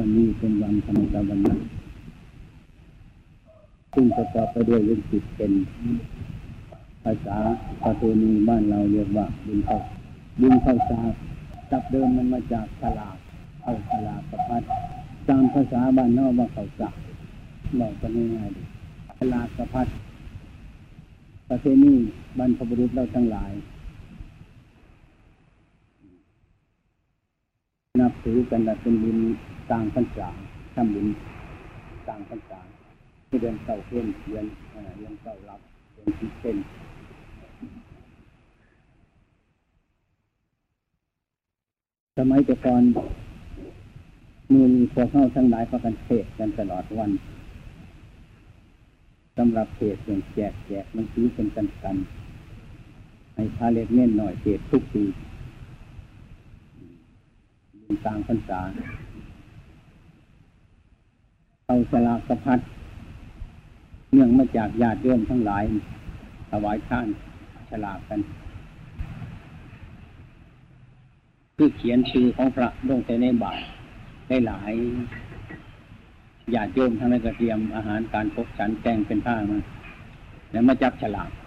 วันนี้เป็นวันธรรมสวนะซึ่งประกอบไปด้วยวิจิตรเป็นภาษาประเพณีบ้านเราเรียกว่าบุญเข้าสากจับเดิมมันมาจากฉลากเข้าฉลากประพัดตามภาษาบ้านนอกว่าเข้าสากเราก็ง่ายๆฉลากประพัดประเพณีบรรพบุรุษเราทั้งหลายนับถือกันเป็นบุญกลางพรรษาทำบุญกลางพรรษาที่เดือนเก้าเดือนเก้ารับเดือน10เป็นสมัยแต่ก่อนมือพวกเข้าทั้งหลายพากันเทศกันตลอดวันสำหรับเทศอย่างแจกมันซื้อเป็นกันให้พาเล็กเน่นหน่อยเทศทุกปีกลางพรรษาเอาฉลากประพัดเนื่องมาจากญาติโยมทั้งหลายถวายท่านฉลากกันคือเขียนชื่อของพระลงในบาตรได้หลายญาติโยมทั้งนั้นก็เตรียมอาหารการพบฉันแต่งเป็นผ้ามาแล้วมาจับฉลาก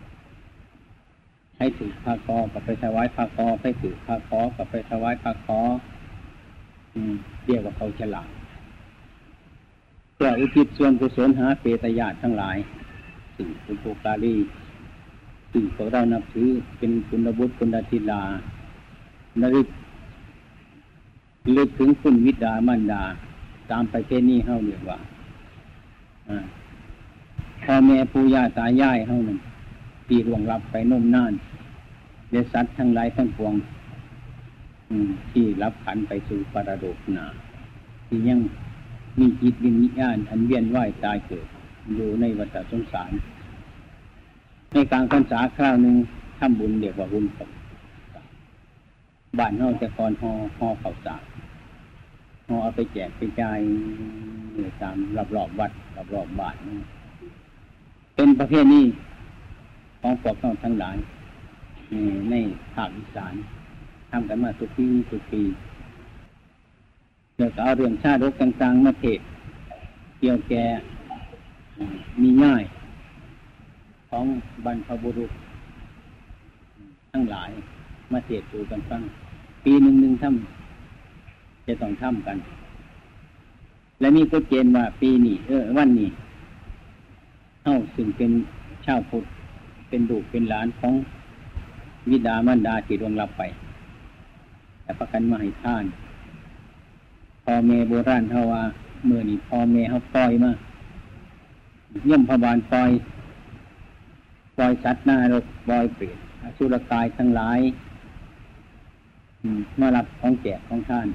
ให้ถือผ้าคอกับไปถวายผ้าคอให้ถือผ้าคอกับไปถวายผ้าคอเรียกว่าเขาฉลาดเพื่ออุทิศส่วนกุศลหาเปตญาติทั้งหลายสิ่งเป็นโภคาลีสิ่งพวกเรานับถือเป็นคุณบุตรคุณธิดานริลึกถึงคุณวิดามารดาตามประเพณีเฮาเรียกว่าพ่อแม่ปู่ย่าตายายเฮานั่นที่ล่วงลับไปนมนานเดชสัตว์ทั้งหลายทั้งปวงที่รับขันไปสู่ปรโลกนาที่ยังมีจิตวิญญาณอันเวียนว่ายตายเกิดอยู่ในวัฏสงสารในกลางพรรษาคราวหนึ่งทำบุญเรียกว่าบุญบ้านเฮาแต่ก่อนห่อข้าวสารห่อเอาไปแจกไปจ่ายตามรอบวัดรอบบ้านเป็นประเพณีของพวกเราทั้งหลายในภาคอีสานทำกันมาทุกปีเกี่ยวกับเอาเรื่องชาดกต่างๆมาเทศเกี่ยวแก่มีง่ายของบรรพบุรุษทั้งหลายมาเทศสู่กันฟังปีหนึ่งทำจะต้องทำกันและมีกฎเกณฑ์ว่าปีนี้วันนี้เฮ้าซึ่งเป็นชาวพุทธเป็นลูกเป็นหลานของบิดามารดาที่ล่วงลับไปแต่ประกันมาให้ท่านพ่อแม่โบราณเขาว่าเมื่อนี้พ่อแม่เขาปล่อยมาเยี่ยมพบาลปล่อยสัตว์หน้ารกปล่อยเปรตอสุรกายทั้งหลายมารับของแจกของท่าน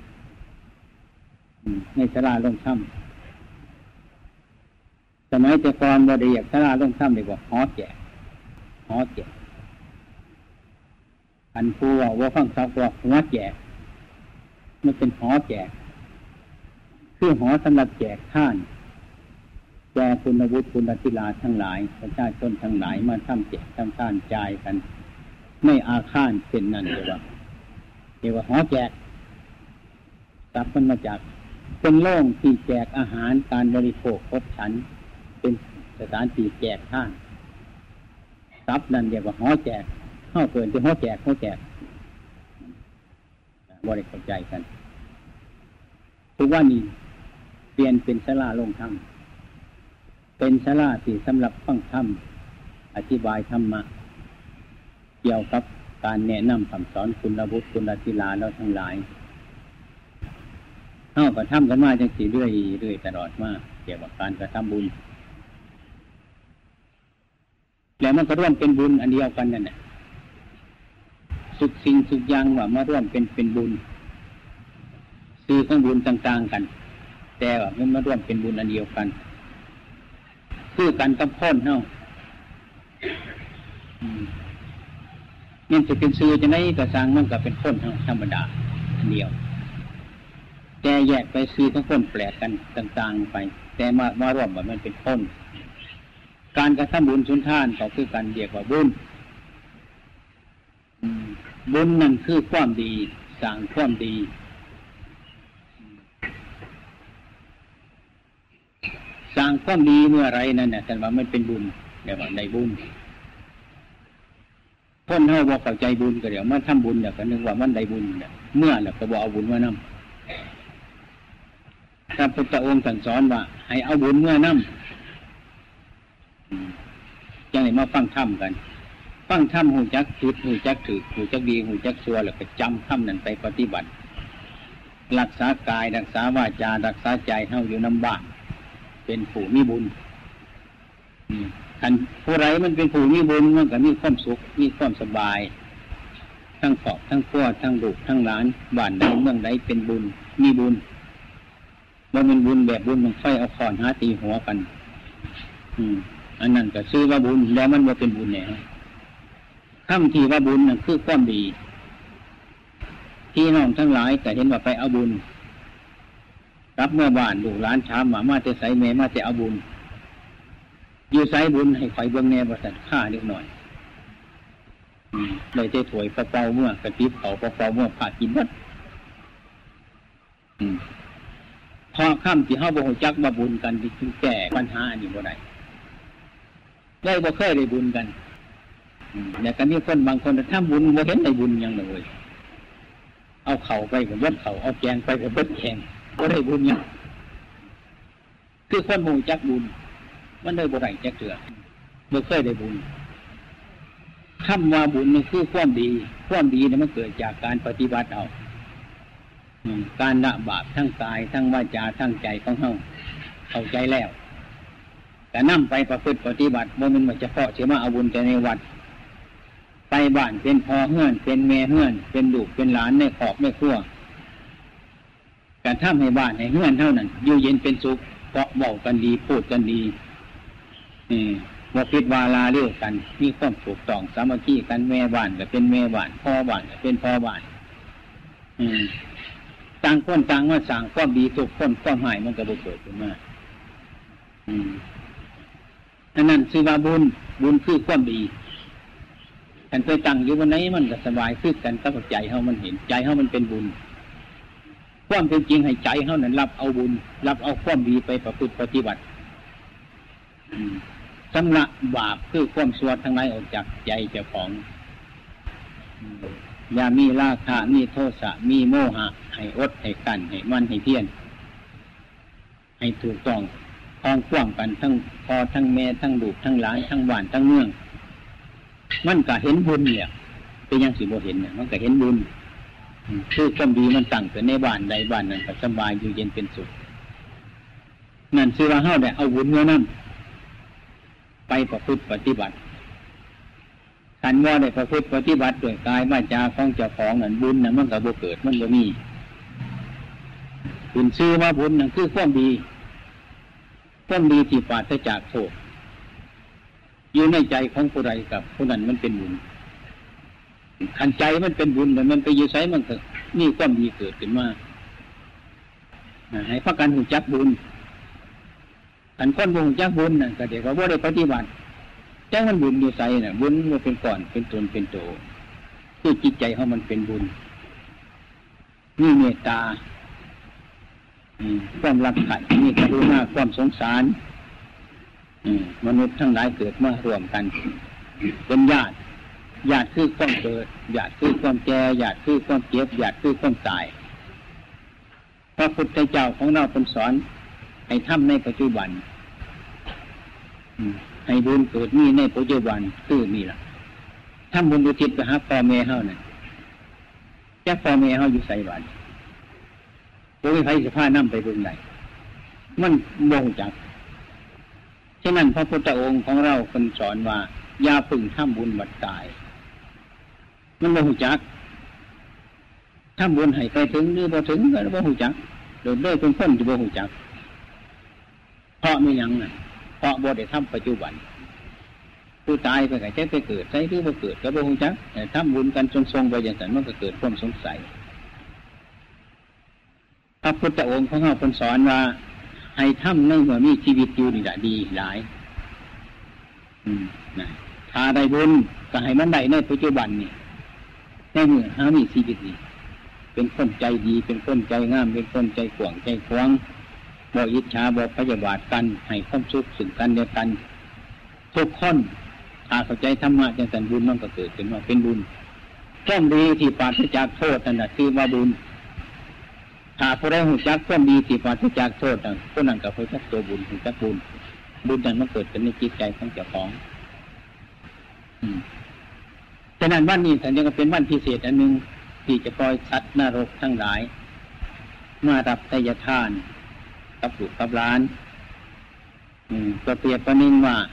ในศาลาลงถ้ำสมัยแต่ก่อนบ่ได้เรียกศาลาลงถ้ำเรียกว่าหอแจกอันผู้ว่าฟังเขาบอกหัวแจกมันเป็นหอแจกคือหอสำหรับแจกท่านแจกคุณวุฒิคุณธิลาทั้งหลายประชาชนทั้งหลายมาทำแจกทำท่านจ่ายกันไม่อาฆาตเป็นนั่นเรียกว่าหอแจกตับมันมาจากเป็นโล่งที่แจกอาหารการบริโภคครบฉันเป็นสถานที่แจกท่านตับนั่นเรียกว่าหอแจกเข้าเกินที่หอแจกบริเข้าใจกันทุกวันนี้เปลี่ยนเป็นศาลาลงธรรมเป็นศาลาที่สำหรับฟังธรรมอธิบายธรรมะเกี่ยวกับการแนะนำคำสอนคุณบุตรคุณธิลาเราทั้งหลายเข้ากับทำกันมาจังสีเรื่อยตลอดมาเกี่ยวกับการกระทำบุญแล้วมันก็ร่วมเป็นบุญอันเดียวกันนั่นแหละสุขสิ่งสุขอย่างว่ามาร่วมเป็นบุญซื้อของบุญต่างๆกันแต่ว่ามันมาร่วมเป็นบุญอันเดียวกันคือกันกับพ้นเนาะนี่จะเป็นซื้อจะไหนกระสังมันก็เป็นพ้นเนาะธรรมดาอันเดียวแต่แยกไปซื้อของพ้นแปลกกันต่างๆไปแต่มาร่วมว่ามันเป็นพ้นการกระทำบุญสุนทานก็คือการเรียกว่าบุญนั่นคือความดีสร้างความดีสร้างความดีเมื่อไรนั่นน่ะแต่ว่ามันเป็นบุญเดี๋ยวว่าได้บุญคนเฮาบ่เข้าใจบุญก็เดี๋ยวมันทำบุญเดี๋ยวก็นึกว่ามันได้บุญเนี่ยเมื่อแล้วก็บ่เอาบุญมานำพระพุทธองค์ท่านสอนว่าให้เอาบุญเมื่อนำจังได๋มาฟังธรรมกันฟังธรรมฮู้จักผิดฮู้จักถูกฮู้จักดีฮู้จักชั่วแล้วก็จำธรรมนั้นไปปฏิบัติรักษากายรักษาวาจารักษาใจเฮาอยู่นำบ้านเป็นผู้มีบุญท่านผู้ไรมันเป็นผู้มีบุญมันก็มีความสุขมีความสบายทั้งครอบทั้งครัวทั้งลูกทั้งหลานบ้านใดเมืองใดเป็นบุญมีบุญบ่เป็นบุญแบบบุญมันไฟเอาค้อนหาตีหัวกันอันนั้นก็ชื่อว่าบุญแล้วมันบ่เป็นบุญแน่คำที่ว่าบุญนั่นคือความดีพี่น้องทั้งหลายแต่เห็นว่าไปเอาบุญรับเมื่อบ้านลูกหลานถามว่ามาแต่ไสแม่มาแต่เอาบุญอยู่ไสบุญให้ไฟเบิ่งแน่บ่ซั่นค่าเล็กน้อยเลยได้ถ้วยเปล่าๆเมื่อกระติบเขาเปล่าๆเมื่อพากินหมดพอค่ำที่เฮาบ่ฮู้จักว่าบุญกันที่แก้ปัญหาอันนี้บ่ได้เลยบ่เคยได้บุญกันแต่ก็มีคนบางคนทำบุญบ่เห็นได้บุญหยังเลยเอาเข่าไปกับเบิดเข่าเอาแกงไปกับเบิดแกงบ่ได้บุญหยังคือคนฮู้จักบุญมันได้บ่ได้จักเทื่อบ่เคยได้บุญคำว่าบุญนี่คือความดีความดีเนี่ยมันเกิดจากการปฏิบัติเอาการละบาปทั้งกายทั้งวาจาทั้งใจของเฮาเข้าใจแล้วแต่นำไปประพฤติปฏิบัติบ่แม่นว่าเฉพาะสิมาเอาบุญแต่ในวัดไปบ้านเป็นพ่อเฮือนเป็นแม่เฮือนเป็นลูกเป็นหลานในครอบในครัวการทำให้บ้านให้เฮือนเท่านั้นอยู่เย็นเป็นสุขเพราะเว้ากันดีพูดกันดีว่าพิดวาลาเรียกกันมีความถูกต้องสามัคคีกันแม่บ้านก็เป็นแม่บ้านพ่อบ้านก็เป็นพ่อบ้านต่างคนต่างว่าสั่งความดีทุกคนความหายมันก็บ่เกิดขึ้นมาอันนั้นคือว่าบุญคือความดีกันไปตั้งอยู่วันไหนมันก็สบายขึ้นกันกับใจเฮามันเห็นใจเฮามันเป็นบุญความเป็นจริงให้ใจเฮานั้นรับเอาบุญรับเอาความดีไปประพฤติปฏิบัติชำระบาปคือความชั่วทั้งหลายออกจากใจเจ้าของอย่ามีราคะมีโทสะมีโมหะให้อดให้กั้นให้มั่นให้เพียรให้ถูกต้องคล้องคว่ำกันทั้งพ่อทั้งแม่ทั้งลูกทั้งหลานทั้งบ้านทั้งเมืองมันก็เห็นบุญเนี่ยเป็นยังสิบ่เห็นเนี่ยมันก็เห็นบุญคือความดีมันตั้งแต่ในบ้านใดบ้านนั้นก็สบายอยู่เย็นเป็นสุขนั่นคือว่าเฮาได้เอาบุญเมื่อนั้นไปประพฤติปฏิบัติคันว่าได้ประพฤติปฏิบัติด้วยกายวาจาของเจ้าของนั่นบุญนั่นมันก็บ่เกิดมันบ่มีบุญชื่อว่าบุญนั่นคือความดีที่ปราศจากโทษอยู่ในใจของผู้ใดกับผู้นั้นมันเป็นบุญขันใจมันเป็นบุญแต่มันไปอยู่ไสมันก็นี่ความดีเกิดขึ้นมาให้พากันรู้จักบุญขันคนบ่รู้จักบุญน่ะก็เดี๋ยวก็บ่ได้ปฏิบัติจังมันบุญอยู่ไสน่ะบุญมันเป็นก่อนเป็นตนเป็นโตคือจิตใจเฮามันเป็นบุญมีเมตตาความรักใคร่มีกรุณาความสงสารมนุษย์ทั้งหลายเกิดมารวมกันเป็นญาติคือความเกิดญาติคือความแก่ญาติคือความเจ็บญาติคือความตายพระพุทธเจ้าของเราเป็นสอนให้ทำในปัจจุบันให้บุญเกิดมีในปัจจุบันคือมีล่ะทำบุญอุทิศไปหาพ่อแม่เฮานั่นจักพ่อแม่เฮาอยู่ไสบัดบ่มีใครสิพานำไปเบิ่งได้มันบ่รู้จักฉะนั้นพระพุทธองค์ของเราคนสอนว่าอย่าพึ่งทำบุญบัดตายมันบ่รู้จักทำบุญให้ไปถึงหรือบ่ถึงก็บ่รู้จักโดยเป็นคนที่บ่รู้จักเพราะมีหยังน่ะเพราะบ่ได้ทำปัจจุบันผู้ตายไปก็จะไปเกิดใช่หรือบ่เกิดก็บ่รู้จักแต่ทำบุญกันทรงๆไปอย่างนั้นมันก็เกิดความสงสัยพระพุทธองค์ของเราคนสอนว่าให้ทำในเมื่อมีชีวิตอยู่นี่แหละดีหลายถ้าได้บุญก็ให้มันได้ในปัจจุบันนี่ในเมื่อหามีชีวิตนี่เป็นคนใจดีเป็นคนใจงามเป็นคนใจกว้างใจขวางบ่อิจฉาบ่พยาบาทกันให้ความสุขซึ่งกันและกันทุกคนถ้าเข้าใจธรรมะจังสันบุญมันก็เกิดขึ้นมาเป็นบุญความดีที่ปราศจากโทษนั่นแหละคือว่าบุญถ้าผู้ใดรู้จักความดีที่ปราศจากโทษผู้นั้นก็รู้จักตัวบุญรู้จักบุญบุญนั้นมันเกิดขึ้นในจิตใจของเจ้าของฉะนั้นวันนี้ท่านยังเป็นวันพิเศษอันหนึ่งที่จะปล่อยสัตว์นรกทั้งหลายมารับไตรทานกับลูกกับหลานก็เปรียบประนินว่า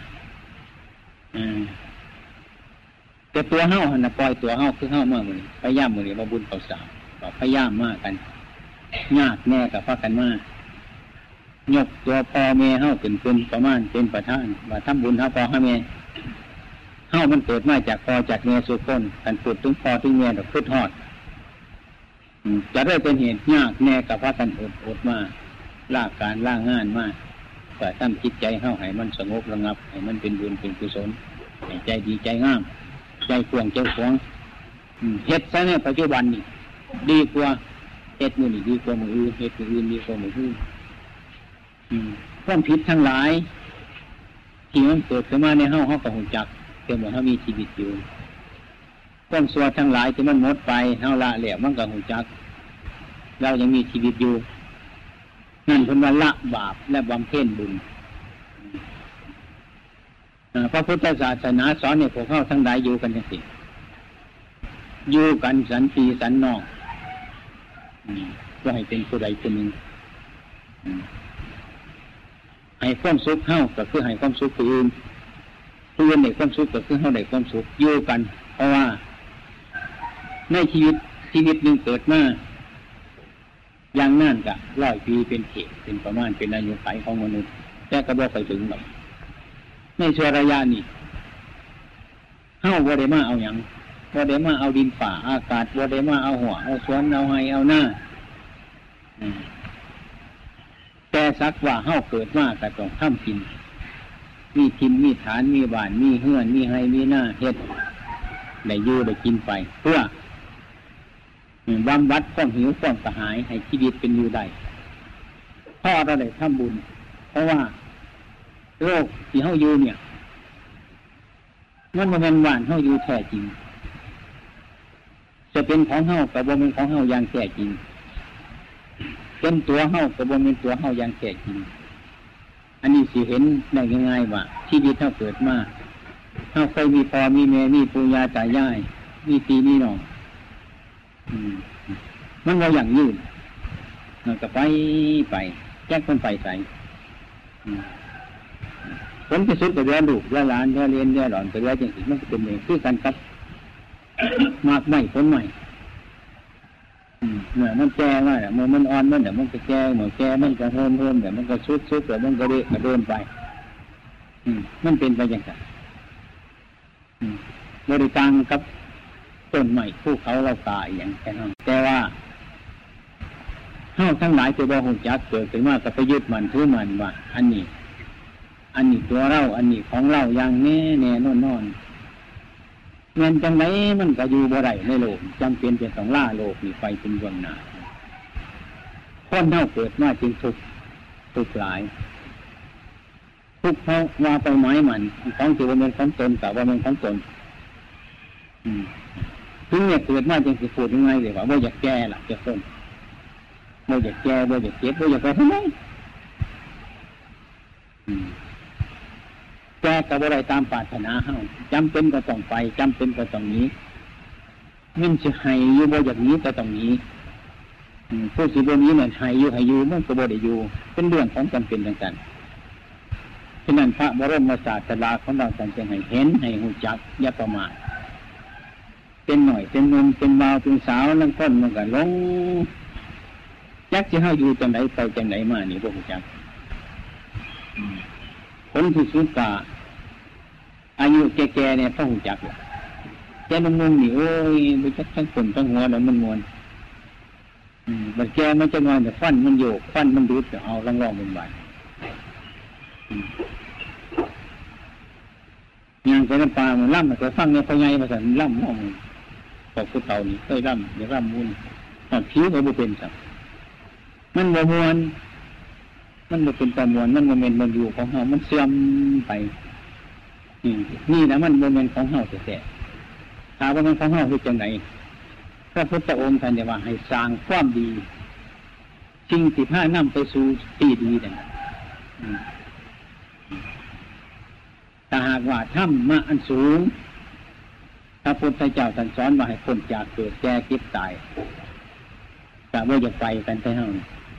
แต่ตัวเฮาหันนะปล่อยตัวเฮาคือเฮาเมื่อมือพยายามมือนี้มาบุญเขาสาวก็พยายามมากกันยากแน่กับพากันมายกตัวพ่อแม่เฮาเป็นประมาณเป็นประธานว่าทำบุญเฮาพ่อเฮาแม่เฮามันเกิดมาจากพ่อจากแม่สุคนกันพูดถึงพ่อถึงแม่ดอกพุทธฮอดจะได้เป็นเหตุยากแน่กับพากันอดมาล่าการล่างานมากแต่ตั้งจิตใจเฮาให้มันสงบระงับให้มันเป็นบุญเป็นกุศลให้ใจดีใจงามใจขวงใจขวงเฮ็ดซะในปัจจุบันนี่ดีกว่าเฮ็ดมือนี่ดีกว่ามืออื่นเฮ็ดมืออื่นดีกว่ามืออื่นความผิดทั้งหลายที่มันเกิดขึ้นมาในเฮาก็รู้จักเกิดเมื่อเฮามีชีวิตอยู่ความชั่วทั้งหลายที่มันหมดไปเฮาละแล้วมันก็รู้จักเรายังมีชีวิตอยู่นั่นเป็นว่าละบาปและบำเพ็ญบุญพระพุทธศาสนาสอนให้พวกเขาทั้งหลายอยู่กันอย่างนี้อยู่กันสันติสันนอกก็ให้เป็นผู้ใดคนหนึ่งให้ความสุขเฮาก็คือให้ความสุขผู้อื่นผู้อื่นได้ความสุขก็คือเฮาได้ความสุขอยู่กันเพราะว่าในชีวิตหนึ่งเกิดมาอย่างนั่นก็100 ปีเป็นเขตเป็นประมาณเป็นอายุขัยของมนุษย์แต่ก็บ่ไปถึงหรอกในช่วงระยะนี้เฮาบ่ได้มาเอาหยังบ่ได้มาเอาดินฝ่าอากาศบ่ได้มาเอาหัวเอาสวนเอาไห้เอาหน้าแต่สักว่าเฮาเกิดมาก็ต้องทำกินมีทินมีฐานมีบ้านมีเฮือนมีไห้มีหน้าเฮ็ดได้อยู่ได้กินไปเพื่อบำบัดความหิวความกระหายให้ชีวิตเป็นอยู่ได้เพราะเราได้ทำบุญเพราะว่าโลกที่เฮาอยู่เนี่ยมันบ่แม่นบ้านเฮาอยู่แท้จริงจะเป็นของเฮาก็บ่เป็นของเฮาอย่างแท้จริงเป็นตัวเฮาก็บ่เป็นตัวเฮาอย่างแท้จริงอันนี้สิเห็นได้ง่ายๆว่าชีวิตเฮาเกิดมาเฮาเคยมีพ่อมีแม่มีปู่ย่าตายายมีพี่มีน้องมันว่าอย่างยืนมันก็ไปแจ้งคนไปใส่ผลที่สุดก็เรียนลูกเรียนหลานเรียนเรียนหลอนก็เรียนจริงๆมันก็เป็นเองคือกันครับมากไม่ผลใหม่เมื่อมันแก่ว่าเมื่อมันอ่อนมันเดี๋ยวมันก็แก่เมื่อแก่มันก็เพิ่มเดี๋ยวมันก็ชุดเดี๋ยวมันก็เดินไปมันเป็นไปอย่างไรบริการครับต้นใหม่ภูเขาเราตายอย่างแค่นั้นแต่ว่าเฮาทั้งหลายจะบ่ฮู้จักเกิดขึ้นมาก็ไปยึดมันถือมันว่าอันนี้ตัวเราอันนี้ของเราอย่างแน่นอนเงินจังไรมันก็อยู่บ่ได้ในโลกจำเป็นจะต้องล่าโลกนี่ไปเป็นเบื้องหน้าคนเฮาเกิดมาจึงทุกข์หลายทุกข์เพราะว่าไปหมายมันของที่ว่าเป็นของตนแต่ว่าเป็นของตนถึงเนี่ยเกิดมาจึงสิพูดยังไงเลยว่าบ่อยากแก่ล่ะจะต้นบ่อยากแก่บ่อยากเจ็บบ่อยากไปทำไมแก่กับอะไรตามปรารถนาเฮาจำเป็นก็ต้องไปจำเป็นก็ต้องนี้มันจะให้อยู่บ่อย่างนี้ก็ต้องนี้ผู้สิบ่นี้เนี่ยให้อยู่มันก็บ่ได้อยู่เป็นเรื่องของจำเป็นต่างๆฉะนั้นพระบรมศาสดาของเราท่านจึงให้เห็นให้รู้จักอย่าประมาทเป็นหน่อยเป็นนมเป็นบ่าวเป็นสาวนั่งต้นมันก็ลงจักสิเฮาอยู่จังไดไปจังไดมานี่บ่รู้จักคนที่สุดกะอายุแก่ๆเนี่ยต้องรู้จักเลยแก่นุ่มๆนี่โอ้ยไปจักทั้งคนทั้งหัวแล้วมันมวนบัดแก่มันจะงอนแต่ฟันมันโยกฟันมันดูดจะเอาล่องๆบนใบอย่างไปน้ำปลามันล่ำมันก็ฟังเนี่ยเขาใหญ่มาสั่นล่ำห้องพวกผู้เฒ่านี่เคยล่ำอย่าล่ำมุนตอนผิวก็บ่เป็นสักมันบ่มวนมันบ่เป็นตะมวนมันโมเมนต์มันอยู่ของเฮามันเสื่อมไปนี่นะมันโมเมนต์ของเฮาแท้ๆถ้าว่ามันของเฮาคือจังไหนพระพุทธองค์ท่านได้ว่าให้สร้างความดีสิ่งที่พานำไปสู่ที่ดีนั่นถ้าหากว่าธรรมะอันสูงพระพุทธเจ้าท่านสอนว่าให้พ้นจากเกิดแก่เจ็บตายแต่ว่าอย่าไปกันไปเฮา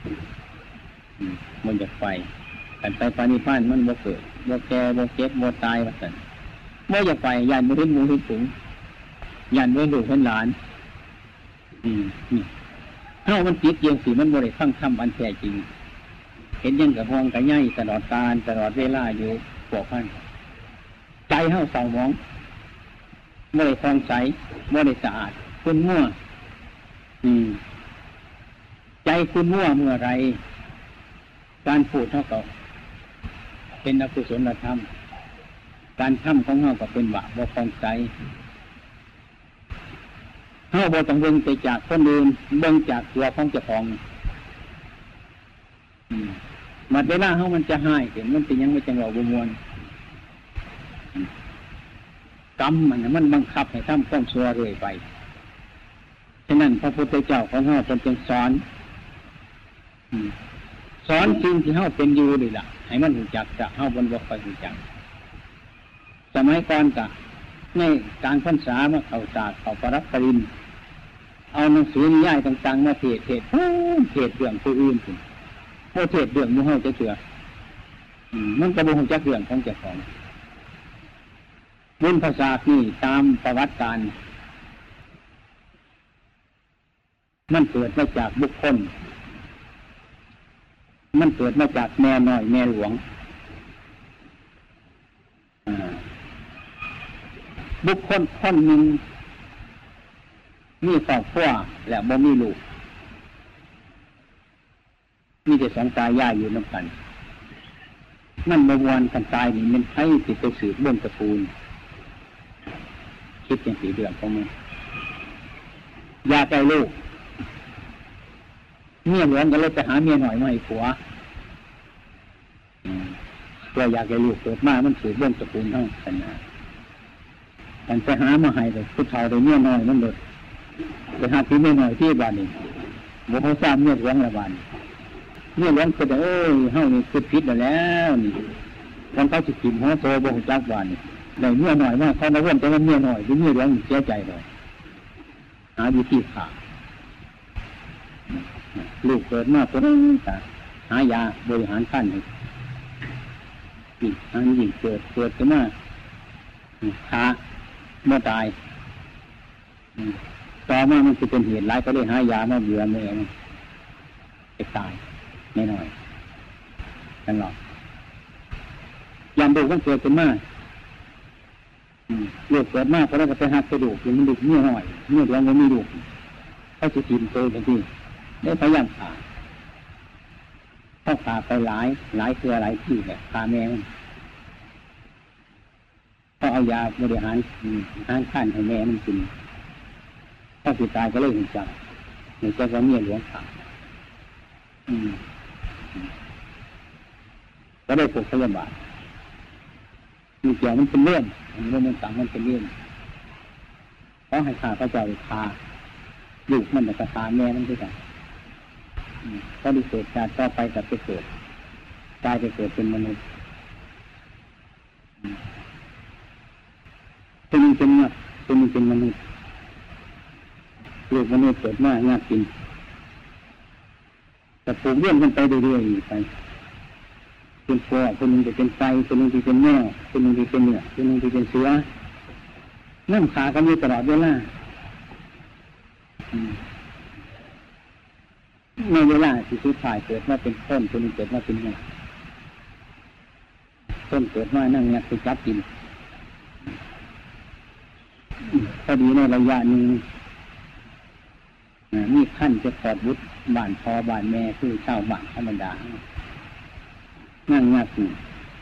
มันจะไปกันไปปานิพพานมันบ่เกิดบ่แก่บ่เจ็บบ่ตายว่าซั่นบ่อยากไปย่านบ่เห็นหมู่เห็นฝูงย่านบ่เห็นลูกเห็นหลานนี่เฮามันติดเกียงสิมันบ่ได้ฟังธรรมอันแท้จริงเห็นยังกับห้องกับใหญ่ตลอดกาลตลอดเวลาอยู่พวกท่านใจเฮาเศร้าหมองบ่ได้ฟองใสบ่ได้สะอาดคุณมั่วใจคุณมั่วเมื่อไรการพูดเท่ากับเป็นอกุศลธรรมการทำของเฮาก็เป็นบาปบ่ฟองใสเฮาบ่ต้องเบิ่งไปจากคนอื่นเบิ่งจากตัวของเจ้าของมาเวลาเฮามันจะหายเห็นมันเป็นยังไม่จังเราบ่ม่วนกรรมมันบังคับให้ทำความชั่วเรื่อยไปฉะนั้นพระพุทธเจ้าของเฮาจึงสอนสิ่งที่เฮาเป็นอยู่นี่ล่ะให้มันรู้จักจะเฮาบ่ค่อยรู้จักสมัยก่อนก็ในกลางพรรษามาเข้าศาสตร์เข้าปรับปริญญาเอาหนังสือนิยายต่างๆมาเทศเรื่องผู้อื่นพุ่นบ่เทศเรื่องหมู่เฮาจะเชื่อมันก็บ่ฮู้จักเรื่องของเจ้าของบุญภาษานี่ตามประวัติการมันเกิดมาจากบุคคลมันเกิดมาจากแม่น้อยแม่หลวงบุคคลคนหนึ่งมีครอบครัวและบ่มีลูกมีแต่สองตายายอยู่นำกันนั่นบ่ม่วนกันตายนี่มันไผสิไปสืบเบื้องตระกูลคิดอย่างสีเดือดของมันอยากได้ลูกเมียหลวงก็เลยไปหาเมียหน่อยมาให้ผัวเพื่ออยากได้ลูกเกิดมามันสืบเบื้องตระกูลเท่ากันนะกันไปหามาให้เลยผู้ชายได้เมียน้อยมันเลยไปหาที่เมียน้อยที่บ้านนี่บ่เขาทราบเมียหลวงละบ้านเมียหลวงก็จะเฮานี่คือผิดแล้วนี่คนเขาสิกินหัวโตบ่ฮู้จักบ้านนี่ได้เมียน้อยมาเขามาเว้นแต่ว่าเมียน้อยหรือเมียหลวงเสียใจเลยหาวิธีฆ่าลูกเกิดมาก็หายาบริหารขั้นให้อันยิ่งเกิดขึ้นมาขาเมื่อตายต่อมามันจะเป็นเหตุร้ายก็เลยหายามาเบื่อแม่จะตายไม่น้อยตลอดยามดูมันเกิดขึ้นมาลูกเกิดมากก็แล้วก็ไปหักกระดูกยังมันดุเมื่อหน่อยเมื่อเดือนมันมีดุเขาจะกินโตทันทีได้พยายามผ่าต้องผ่าไปหลายเครือหลายที่แบบผ่าแมวเขาเอายาบริหารขั้นให้แม่มันกินถ้าติดตายก็เลยเห็นจังเห็นจังว่าเมียหลวงผ่าก็ได้ปลุกพยาบาลมีเกี่ยวมันเป็นเรื่องมันต่างมันเป็นเรื่องเพราะให้ข้าพระเจ้าพาลูกมันแต่กระทาแม่มันด้วยกันก็ได้เกิดการต่อไปกับไปเกิดกลายไปเกิดเป็นมนุษย์เป็นเงาเป็นมนุษย์ลูกมนุษย์เกิดมากงากินแต่ปลูกเรื่องกันไปเรื่อยๆไปเป็นฟอคนหนึ่งจะเป็นไฟคนหนึ่งจะเป็นแมวคนหนึ่งจะเป็นเนื้อคนหนึ่งจะเป็นเสือนั่งขากันอยู่ตลอดเวลาในเวลาที่สุดท้ายเกิดมาเป็นต้นคนหนึ่งเกิดมาเป็นแมวต้นเกิดมานั่งงัดไปจับกินพอดีในระยะหนึ่งมีขั้นจะถอดวุฒิบ้านพอบ้านแม่คือเช่าบ้านธรรมดานั่งงัดอยู่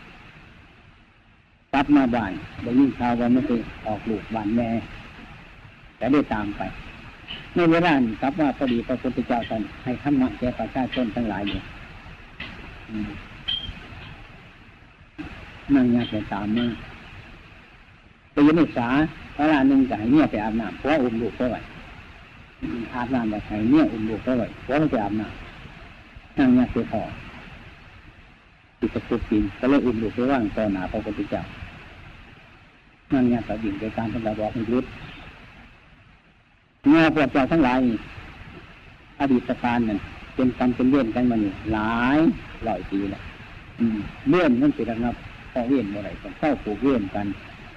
ตัดมาบ้านได้ยิ่งข่าวว่าไม่เคยออกลูกบ้านแม่แต่ได้ตามไปในเวลานี้ครับว่าพอดีพระพุทธเจ้าท่านให้ธรรมะแก่ประชาชนทั้งหลายอยู่นั่งยากไปตามมาไปยืนศึกษาเวลาหนึ่งก็ให้เนี่ยไปอาบน้ำเพราะอุ้มลูกเขาไว้อาบน้ำแบบให้เนี่ยอุ้มลูกเขาไว้เพราะเขาไปอาบน้ำนั่งยากไปพอติดตะกุบกินก็เลยอุ้มลูกไปว่างต่อหน้าพระพุทธเจ้านั่งยากต่อดิ่งไปตามพระบอกให้รุดเงาพวกเจ้าทั้งหลายอดีตการนั่นเป็นกรรมเป็นเวรกันมาเนี่ยหลายร้อยปีแล้วเลื่อนนั่นสิระงับพอเวรอะไรกันเข้าผูกเวรกัน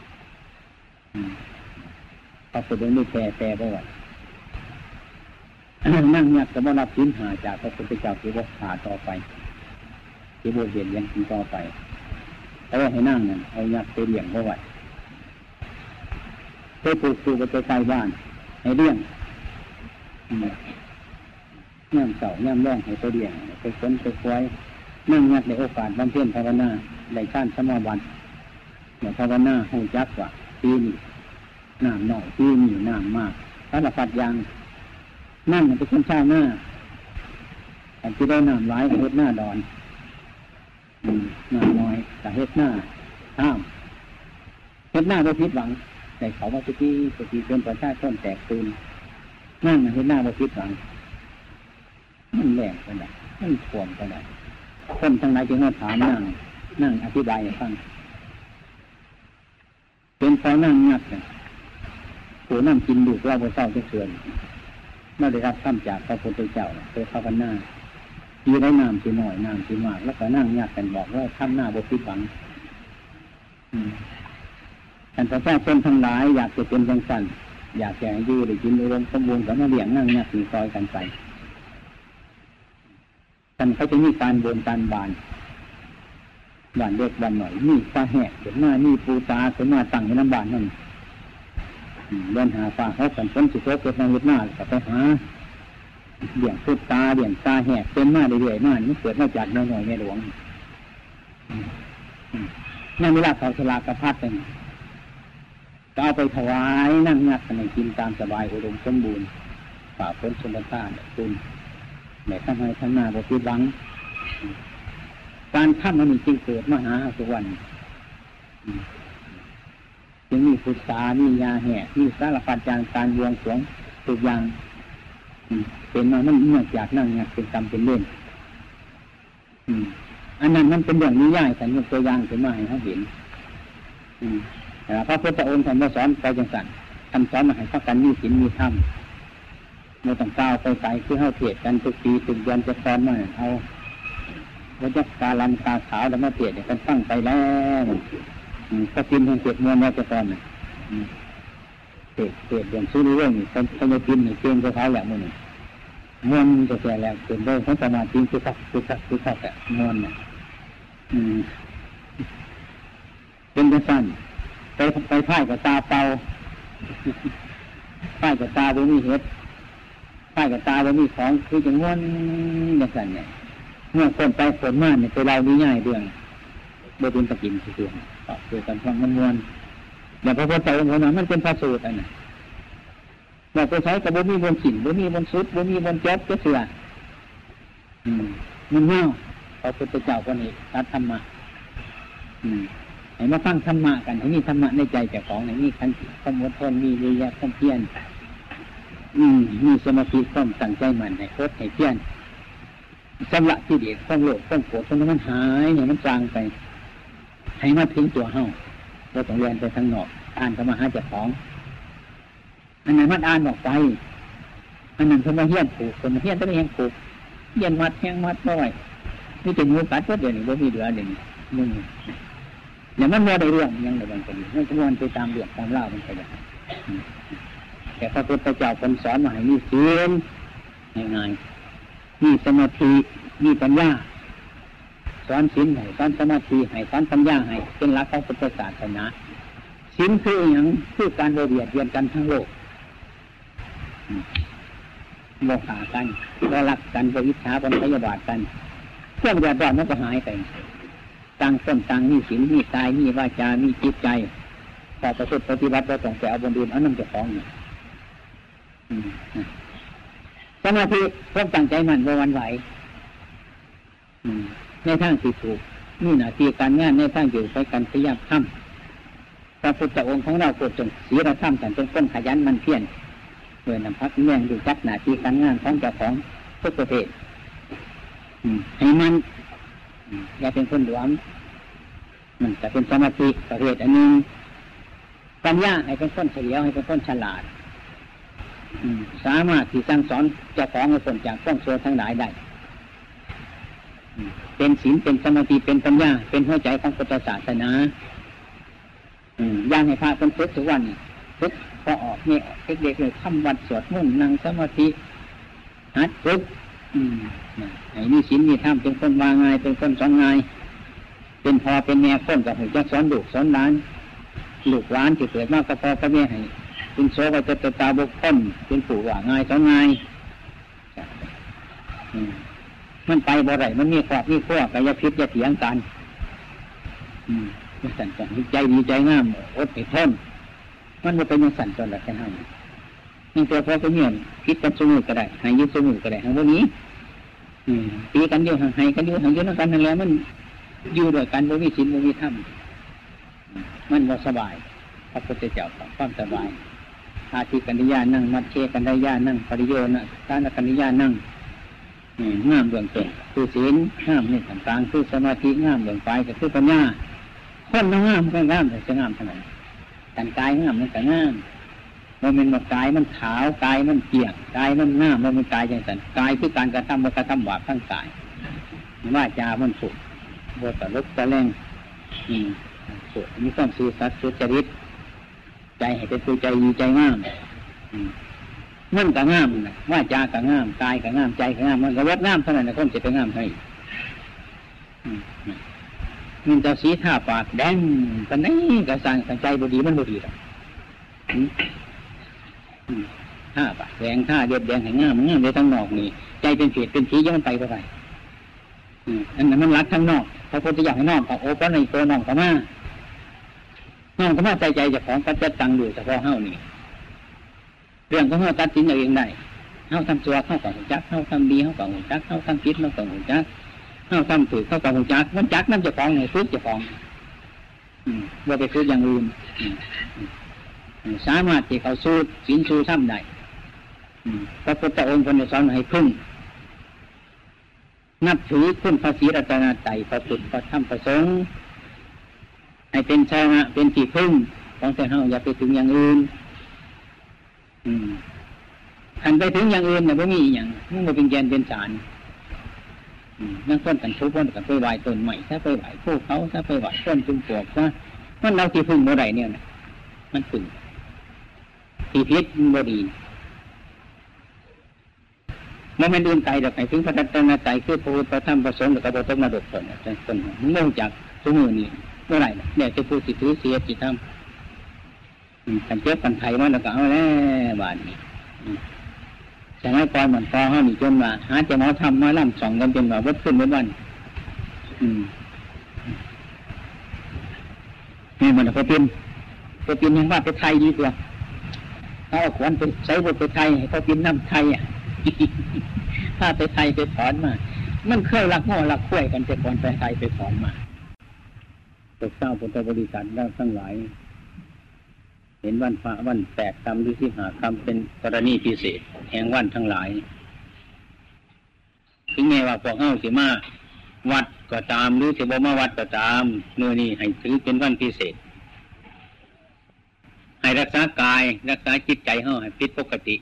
พอสุดนี้แปรไปว่านั่งยักษ์จะมารับชิ้นหาจากพระพุทธเจ้าที่ว่าขาต่อไปที่บวชเรียนยังกินต่อไปแต่ว่าให้นั่งนั่นเอายักษ์ไปเลี้ยงเขาไว้ไปปลูกปลูกไปใกล้บ้านให้เลี้ยงย่ำเสาย่ำแรงให้ไปเลี้ยงไปค้นไปควยนั่งยักษ์ในโอกาสบำเพ็ญภาวนาในชาติสมบัติในภาวนาหูจักว่าปีนี้น้ำหน่อยปีนี้น้ำมากสารพัดอย่างนั่งเป็นคนชาหน้าแต่ที่ได้น้ำร้ายกับเฮ็ดหน้าดอนน้ำน้อยกับเฮ็ดหน้าห้ามเฮ็ดหน้าโดยผิดหวังแต่เขาว่าจะที่เป็นประชาชนแตกตื่นนั่งเฮ็ดหน้าโดยผิดหวังมันแรงไปไหนมันท่วมไปไหนคนทั้งหลายจึงมาถามนั่งอธิบายให้ฟังเป็นเพราะนั่งงักเนี่ยผู้นั่งกินดูเราไปเศร้าจะเสื่อมเมื่อได้รับคำจากพระพุทธเจ้าเคยเข้ากันหน้าทีได้น้ำทีหน่อยน้ำทีมากแล้วก็นั่งงักกันบอกว่าทำหน้าบพิบังท่านพระเจ้าเป็นทั้งหลายอยากจะเป็นจังสันอยากจะอยู่ได้กินอุดมสมบูรณ์ก็มาเลี้ยงนั่งงักมีซอยกันไปท่านเขาจะมีการบนการบานเล็กบ้านหน่อยมีฟ้าแหกเห็นหน้ามีปูตาเห็นหน้าตั้งในน้ำบานนั่นเดินหาฟ้าเขากันฝนสิโตเกิดมาเห็นหน้าก็ไปหาเดี่ยงพูดตาเดี่ยงตาแหกเป็นหน้าเรื่อยๆหน้านี่เกิดมาจากน้อยๆแม่หลวงนั่งเวลาเขาฉลากกระพัดเลยก็เอาไปถวายนั่งงักกันในกินตามสบายอุดมสมบูรณ์ฝ่าฝนชนท่าคุณแม่ทำให้ทั้งหน้าบพิบังการทำมันจึงเกิดมหาสุวรรณจึงมีพุทธามียาแห่มีสารพัดการบวงสรวงทุกอย่างเป็นมามันเนื่องจากนั่งงักเป็นกรรมเป็นเล่นอันนั้นมันเป็นเรื่องนิยายแต่ยกตัวอย่างขึ้นมาให้เขาเห็นพระพุทธองค์ท่านสอนไปจังสันท่านสอนมาให้พักกันมีศีลมีธรรมเราต้องก้าวไปไกลคือเข้าเทศกันทุกปีทุกเดือนจะสอนมาเอาวัฏกาลันตาขาวแล้วมาเทศเนี่ยกันตั้งไปแล้วก็กินแห่งเจ็ดมวลวัฏกรเนี่ยเทศอย่างซื้อเรื่องนี่คนจะกินนี่เก่งกับเขาแหละมันนี่มวลจะแก่แล้วเกินได้ทั้งสมาธิคือคักมวลเนี่ยเป็นกระสันไปพ่ายกับตาเปล่าพ่ายกับตาบ่มีเห็ดพ่ายกับตาบ่มีของคือจะง่วนกระสันเนี่ยเมื่อคนไปคนมาเนี่ยไปเราง่ายเรื่องโดยเป็นตะกินคือคือการฟังมันมวนอย่างพระพุทธเจ้าองค์นั้นมันเป็นพระสูตรอันนั้นเราไปใช้กับบ่มีบนขินบ่มีบนสุดบ่มีบนแจ๊บจะเสือมันเน่าพระพุทธเจ้าคนนี้ตัดธรรมะให้มาฟังธรรมะกันให้มีธรรมะในใจเจ้าของให้มีขันติความอดทนมีวิริยะความเพียรมีสมาธิความตั้งใจมั่นให้โคตรให้เพียรสำละที่เด็ดความโลภความโกรธความมันหายเนี่ยมันจางไปให้มาถึงตัวเฮาเราต้องเรียนไปทางนอกอ่านเข้ามาหาเจ้าของอันนั้นมันอ่านออกไปอันนั้นเขามาเฮี้ยนปลูกคนมาเฮี้ยนต้องเฮี้ยนปลูกเฮี้ยนมัดแห้งมัดน้อยนี่เป็นงูกัดก็เดี๋ยวนี้บ่มีเหลือเดี๋ยวนี้มึงอย่างมันว่าได้เรื่องยังได้บางคนไม่ควรไปตามเรื่องตามเล่ามันไปอย่างแต่พระพุทธเจ้าคนสอนมาให้มีศีลง่ายๆมีสมาธิมีปัญญาสอนศีลให้สอนสมาธิให้สอนปัญญาให้เป็นหลักของพุทธศาสนาศีลคืออย่างคือการเบียดเบียนกันทั้งโลกโมฆะกันก็รักกันก็อิจฉากันพยาบาทกันเครื่องเดือดร้อนมันก็หายไปต่างคนต่างมีศีลมีกายมีวาจามีจิตใจพอประพฤติปฏิบัติเราต้องแต่เอาบนดินเอาน้ำจะคล้องเนี่ยสมาธิต้องตั้งใจมั่นว่าวันไหวในทางที่ถูกนี่หน้าที่การงานในทางอยู่ไปกันพยายามทำพระพุทธองค์ของเราโปรดจงศีลธรรมแต่เป็นคนขยันมันเพียรเมื่อนำพักเลี้ยงดูจักหน้าที่การงานของเจ้าของทุกประเภทให้มันอย่าเป็นคนหลวมมันจะเป็นสมาธิประเภทอันนึงปัญญาให้เป็นคนเฉลียวให้เป็นคนฉลาดสามารถที่สั่งสอนเจ้าของให้พ้นจากความชั่วทั้งหลายได้เป็นศีลเป็นสมาธิเป็นปัญญาเป็นหัวใจของพุทธศาสนาย่างให้พระคนฝึกทุกวันฝึกพอออกเนี่ยเด็กๆเลยทำวัดสวดมนต์นั่งสมาธิหัดฝึกไอ้นี่ศีลนี่ทำเป็นคนวางง่ายเป็นคนสอนง่ายเป็นพอเป็นแม่คนกับหัวใจสอนลูกสอนหลานลูกหลานที่เกิดมากก็พอก็แม่ให้เป็นโซ่ก็จะตาบกพร่องเป็นผู้ว่าง่ายสอนง่ายมันไปบ่ไรมันมีขอบมีขั้วกายพิษจะเถียงกันมันสั่นจังใจดีใจงามอดทนมันไม่เป็นยังสั่นจนหลักแค่นั้นนี่ตัวพอก็เงียบคิดกันสมุนก็ได้หายยืดสมุนก็ได้ทั้งพวกนี้ตีกันเดียวหายกันเดียวหายยืดนั่งกันนั่นแหละมันอยู่ด้วยกันบ่มีศีลบ่มีธรรมมันบ่สบายพระพุทธเจ้าความสบายอาทิกัญญานั่งมัดเชกัญญานั่งปริโยนะทานกัญญานั่งงามเบื้องต้นคือศีลงามนี่ต่างๆคือสมาธิงามเบื้องปลายก็คือปัญญาคนงามก็งามแต่จะงามเท่านั้นการกายงามมันก็งามมันเป็นกายมันขาวกายมันเกี่ยงกายมันงามมันเป็นกายอย่างนั้นกายคือการกระทำมันกระทำบาปทั้งกายว่าจามันสุขบทตะลุกตะแรงสุขมีความซื่อสัตย์สุจริตใจให้เป็นผู้ใจดีใจงามมันก็งามว่าจาก็งามกายก็งามใจก็งามมันก็วัดงามเท่านั้นนะคนจะไปงามให้มันจะสีท่าปากแดงตอนนี้กระสังใจบดีมันบดีหรอกท่าปากแดงท่าเดียบแดงให้งามงามในทั้งนอกนี่ใจเป็นเศษเป็นสียังไปก็ไปอันนั้นมันรักทั้งนอกพระพุทธเจ้าให้นอกกับโอปะในตัวนอกกับมาใจจะของกัจจตังอยู่เฉพาะเฮ้านี่เรื่องของเฮ้าตัดสินเองได้เฮ้าทำตัวเข้ากับหุ่นจักเฮ้าทำดีเข้ากับหุ่นจักเฮ้าทำผิดเข้ากับหุ่นจักเฮ้าทำถูกเข้ากับหุ่นจักมันจักนั่นจะของไงฟื้นจะของว่าไปฟื้นอย่างอื่นสามารถที่เขาสู้ศีลสู้ธรรมได้พระพุทธองค์คนสอนให้พึ่งนับถือคุณพระศรีรัตนตรัยพระพุทธพระธรรมพระสงฆ์ให้เป็นชนะเป็นที่พึ่งของแต่เฮาอย่าไปถึงอย่างอื่นขันไปถึงอย่างอื่นเนี่ยไม่มีอย่างมันไม่เป็นแกนเป็นสารนั่งต้นกันทุกคนกันไปไหวต้นใหม่ถ้าไปไหวพวกเขาถ้าไปไหวต้นจุ่มปวกว่ามันเราที่พึ่งเมื่อไหร่เนี่ยมันพึ่งที่พิษมันบ่ดีมันไม่ดื่มไกลดอกไก่ถึงพระรัตนตรัยคือพระพุทธพระธรรมพระสงฆ์แล้วก็พระต้องมาดกผลเนี่ยต้นมันเนื่องจากสมุนี่เมื่อไหร่เนี่ยจะพูดสิถือเสียจิตธรรมกันเจ็บกันไทยมันแล้วก็เอาแล้วบาดนี้สมัยก่อนเหมือนพอเขาหนีจนมาหาจะหมอทำมาล่ำสองกันจนมาวัดขึ้นวัดวันนี่มันพอเป็นยังว่าไปไทยดีกว่าเขาเอาขวัญไปใช้บทไปไทยให้เขาเป็นน้ำไทยถ้าไปไทยไปถอนมามันเคยรักง้อรักคุ้ยกันแต่ก่อนไปไทยไปถอนมาตกเศร้าพุทธบริษัทแล้วทั้งหลายเห็นวันพระวันแปดคำหรือที่หาคำเป็นกรณีพิเศษแห่งวันทั้งหลายถึงแม้ว่าพวกเฮาสิมาวัดก็ตามหรือสิบ่มาวัดก็ตามเมื่อนี้ให้ถือเป็นวันพิเศษให้รักษากายรักษาจิตใจเฮาให้ผิดปกติ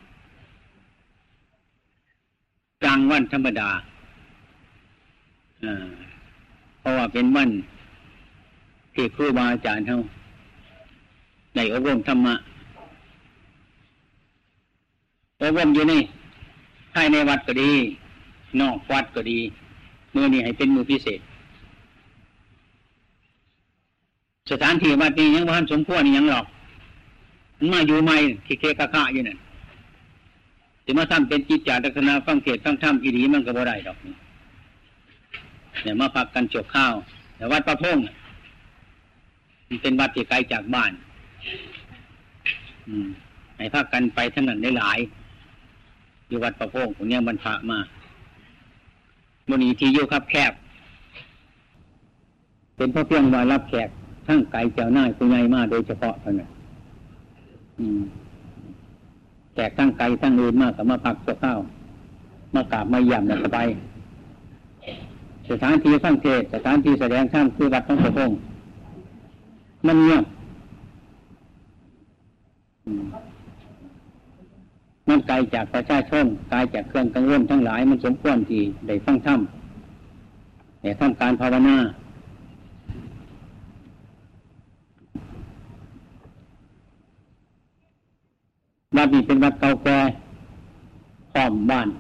กลางวันธรรมดาเพราะว่าเป็นวันที่ครูบาอาจารย์เฮาในอบรมธรรมะอบรมอยู่นี่ภายในวัดก็ดีนอกวัดก็ดีมื้อนี้ให้เป็นมื้อพิเศษสถานที่วัดนี้ยังบ่ทันสมควรยังหรอกมันมาอยู่ใหม่ที่เคกะๆอยู่นั่นสิมาทำเป็นจิตจาลักษณะฟังเทศน์ฟังธรรมอีหลีมันก็บ่ได้ดอกเนี่ยมาพักกันจบข้าวแต่วัดประพงษ์มันเป็นวัดที่ไกลจากบ้านให้พักกันไปทั้งนั้นได้หลายอยู่วัดประพงษ์คนนี้บรรพะมาวันนี้ที่อยู่ครับแคบเป็นเพราะเพียงว่ารับแขกทั้งไกลเจ้าหน้าผู้ใหญ่มาโดยเฉพาะเท่านั้นแขกทั้งไกลทั้งอื่นมากกับมาพักตัวข้าวมากราบมาเยี่ยมแล้วก็ไปสถานที่ฟังเทศน์สถานที่แสดงธรรมคือวัดของพระองค์มันเงียบมันไกลจากประชาชนไกลจากเครื่องกังวลทั้งหลายมันสมควรที่ได้ฟังธรรมแต่ทำการภาวนาวัดนี้เป็นวัดเก่าแก่พร้อมบ้าน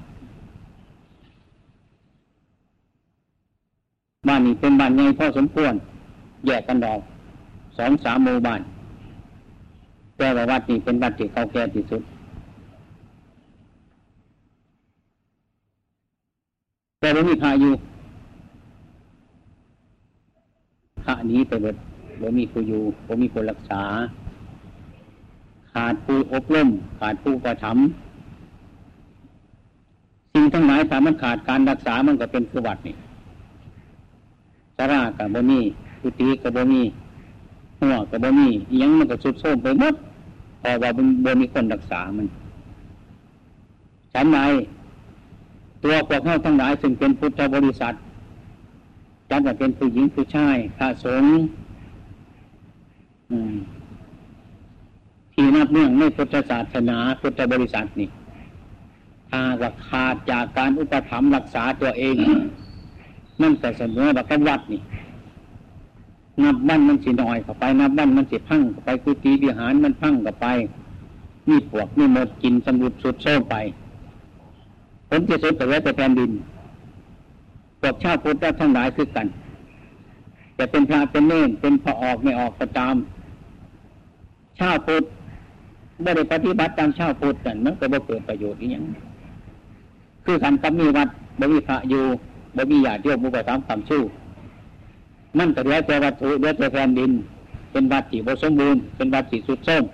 นี้เป็นบ้านใหญ่พอสมควรแยกกันออก 2-3 หมู่บ้านแต่ว่าวัดนี้เป็นวัดที่เก่าแก่ที่สุดแต่ไม่มีพระอยู่พระนี้ไปเบิดบ่มีผู้อยู่บ่มีผู้รักษาขาดผู้อบรมขาดผู้กระทำสิ่งทั้งหลายถ้ามันขาดการรักษามันก็เป็นคือวัดนี่ศาลาก็บ่มีกุฏิก็บ่มีหัวก็บ่มีอิหยังมันก็ทรุดโทรมไปหมดเพราะว่าบ่มีคนรักษามันฉันใดตัวพวกเฮาทั้งหลายซึ่งเป็นพุทธบริษัทจัดว่าเป็นผู้หญิงผู้ชายพระสงฆ์ที่นับเนื่องในพุทธศาสนาพุทธบริษัทนี่ถ้าว่าขาดจากการอุปถัมภ์รักษาตัวเองนั่นแต่เสมอแบบวัดนี่นับบ้านมันสิหน่อยเข้าไปนับบ้านมันสิพังเข้าไปกุฏิวิหารมันพังเข้าไปมีปวกมีมดกินสมุดสุดโซ่ไปผลที่สุดแต่ว่าจะแผ่นดินพวกชาติพุทธทั้งหลายคือกันจะเป็นพระเป็นเนรเป็นพระออกไม่ออกก็ตามชาติพุทธไม่ได้ปฏิบัติตามชาติพุทธกันมันก็บ่เกิดประโยชน์อีหยังคือกันกับมีวัดบ่มีพระอยู่บ่มีญาติโยมอุปถัมภ์คำชู้มันก็เหลือแต่วัตถุเหลือแต่แผ่นดินเป็นวัดที่บ่สมบูรณ์เป็นวัดที่สุดโทรม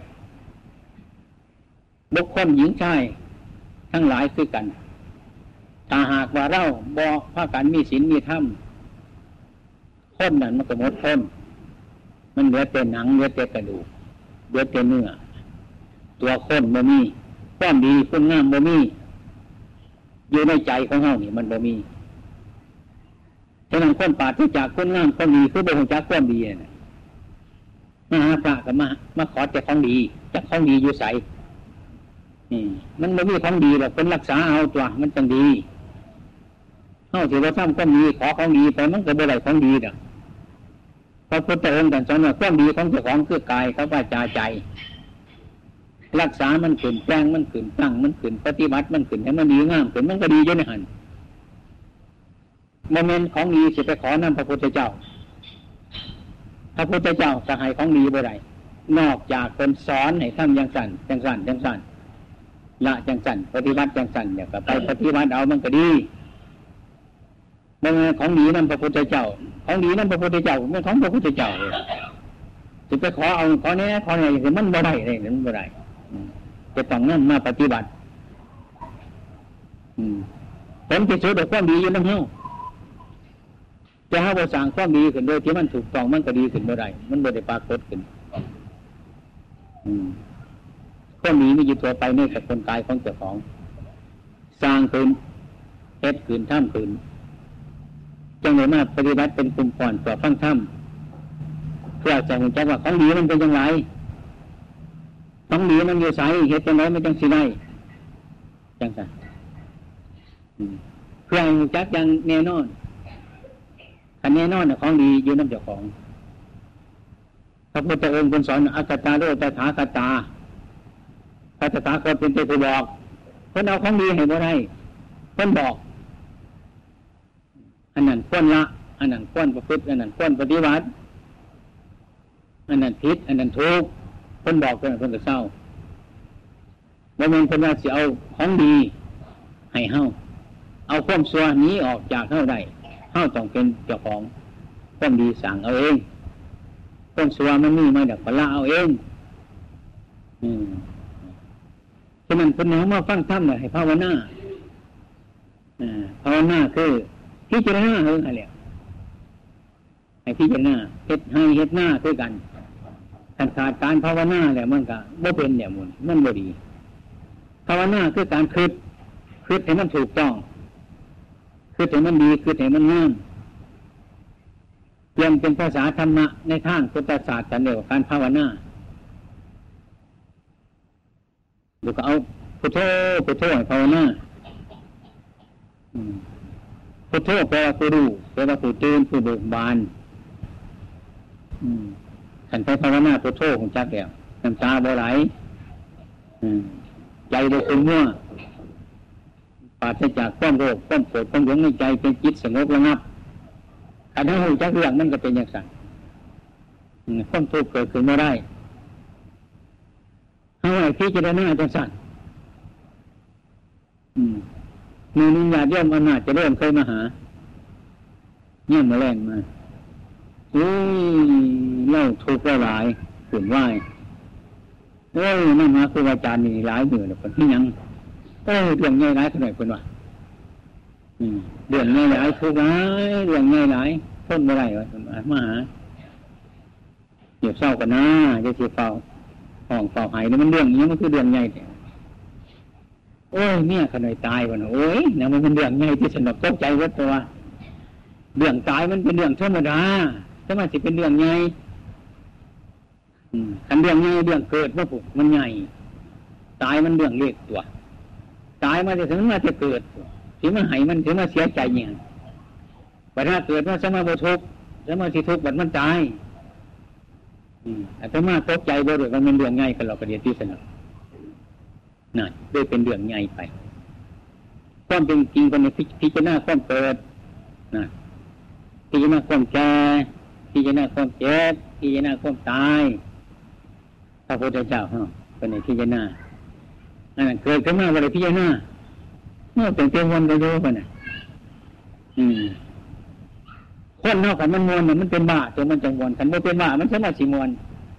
บุคคลหญิงชายทั้งหลายคือกันถ้าหากว่าเราบ่พากันมีศีลมีธรรมคนนั้นมันก็หมดพ้นมันเหลือแต่หนังเหลือแต่กระดูกเหลือแต่เนื้อตัวคนบ่มีความดีคุณงามบ่มีอยู่ในใจของเฮานี่มันบ่มีฉะนั้นคนปราศจากคุณงามความดีคือบ่ฮู้จักความดีน่ะมาหาพระก็มาขอแต่ของดีจักของดีอยู่ไสมันบ่มีของดีหรอกคนรักษาเอาตัวมันจังดีเฮาสิว่าทำความดีขอของดีไปมันก็บ่ได้ของดีดอกพระพุทธองค์ท่านสอนว่าความดีของเจ้าของคือกายกับวาจาใจรักษามันขึ้นแปลงมันขึ้นตั้งมันขึ้นปฏิบัติมันขึ้นให้มันดีงามขึ้นมันก็ดีอยู่ในหันโมเมนต์ของดีสิไปขอนำพระพุทธเจ้าพระพุทธเจ้าจะให้ของดีบ่ได้นอกจากคนสอนให้ทำอย่างสั่นจังสั่นจังสั่นละจังสั่นปฏิบัติจังสั่นเนี่ยก็ไปปฏิบัติเอามันก็ดีโมเมนต์ของดีนำพระพุทธเจ้าของดีนำพระพุทธเจ้าไม่ของพระพุทธเจ้าเลยจะไปขอเอาขอแน่ขอแน่คือมันบ่ได้เลยมันบ่ได้จะต้องนั่นมาปฏิบัติผลที่สุดแต่ความดีอยู่นั่นเฮาจะหาว่าสั่งความดีขึ้นโดยที่มันถูกต้องมันก็ดีขึ้นบ่ได้มันบ่ได้ปรากฏขึ้นความดีมีอยู่ตัวไปในสกุลกายของเจ้าของสร้างขึ้นเฮ็ดขึ้นทำขึ้นจังเลยมาปฏิบัติเป็นกลุ่มก่อนต่อฟังธรรมเพื่อจะเห็นจักว่าของดีมันเป็นอย่างไรของดีมันอยู่ไสเหตุจังไรมันจังสิได้จังซั่นเพื่อให้จักอย่างแน่นอนอันแน่นอนของดีอยู่นำเจ้าของพระพุทธองค์สอนอัตตาโลตถาคตาพระตถาคตเป็นผู้บอกเพิ่นเอาของดีให้บ่ได้เพิ่นบอกอันนั้นควรละอันนั้นควรประพฤติอันนั้นควรปฏิบัติอันนั้นผิดอันนั้นถูกเพิ่นบอกเพิ่นก็เศร้าบ่แม่นเพิ่นว่าสิเอาของดีให้เฮาเอาความชั่วหนีออกจากเฮาได้เฮาต้องเป็นเจ้าของความดีสั่งเอาเองความชั่วมันมีมาจากละเอาเองฉะนั้นเพิ่นเอามาฟังธรรมน่ะให้ภาวนาภาวนาคือพิจารณาเฮาหั่นแหละให้พิจารณาเฮ็ดให้เฮ็ดหน้าด้วยกันขาดการภาวนาแล้วมันก็บ่เป็นเนี่ยมันบ่ดีภาวนาคือการคิดให้มันถูกต้องคิดให้มันดีคิดให้มันงามเปลี่ยนเป็นภาษาธรรมะในทางพุทธศาสตร์กันเดียวกับการภาวนาดูก็เอาพุทโธให้ภาวนาพุทโธแปลว่าผู้รู้แปลว่าผู้ตื่นผู้เบิกบานขันไปภาวนาพุทโธของจักแล้วน้ำตาบ่ไหลใจโดยคุณมั่วปราศจากความโลภความโกรธความหลงในใจเป็นจิตสงบระงับขันทั้งหูจักเรื่องมันก็เป็นอย่างสั่นความทุกข์เกิดขึ้นไม่ได้ให้พิจารณาจังสั่นมีนิยาเยี่ยมอำนาจจะเริ่มเคยมาหาเยี่ยมมาแรงมาเล่าทุกข์หลายขืนไหวนั่นมาครูอาจารย์มีหลายมือเลยคนที่ยังเรื่องง่ายหลายเท่าไหร่คนว่าเรื่องง่ายหลายทุกข์หลายเรื่องง่ายหลายทนไม่ได้วะมาหาเดี๋ยวเศร้ากันนะจะเสียเฝ้าห้องเฝ้าหายนี่มันเรื่องนี้มันคือเรื่องใหญ่เนี่ยขนาดตายวันนะมันเป็นเรื่องใหญ่ที่สนุกตกใจวัดตัวเรื่องตายมันเป็นเรื่องธรรมดาถ้ามันจะเป็นเรื่องใหญ่คันเรื่องใหญ่เรื่องเกิดว่าปุ๊บมันใหญ่ตายมันเรื่องเล็กตัวตายมาจะถึงมาจะเกิดถึงมาหายมันถึงมาเสียใจอย่างแต่ถ้าเกิดว่าสมาบุทุกสมาธิทุกบัดมันตายแต่มาตกใจบ่ด้วยมันเป็นเรื่องใหญ่กันเราประเดี๋ยวที่สนุกนั่นด้วยเป็นเรื่องใหญ่ไปความเป็นจริงคนในพิจารณาความเกิดนะพิจารณาความแก่พิจารณาความเจ็บพิจารณาความตายพระพุทธเจ้าคนในพิจารณาเกิดขึ้นมาวันไหนพิจารณาเมื่อเป็นเพียงวันก็โยกันน่ะคนนอกกันมันมวนมันเป็นบ้าตัวมันจังมวนกันมันเป็นบ้ามันสามารถสิมวน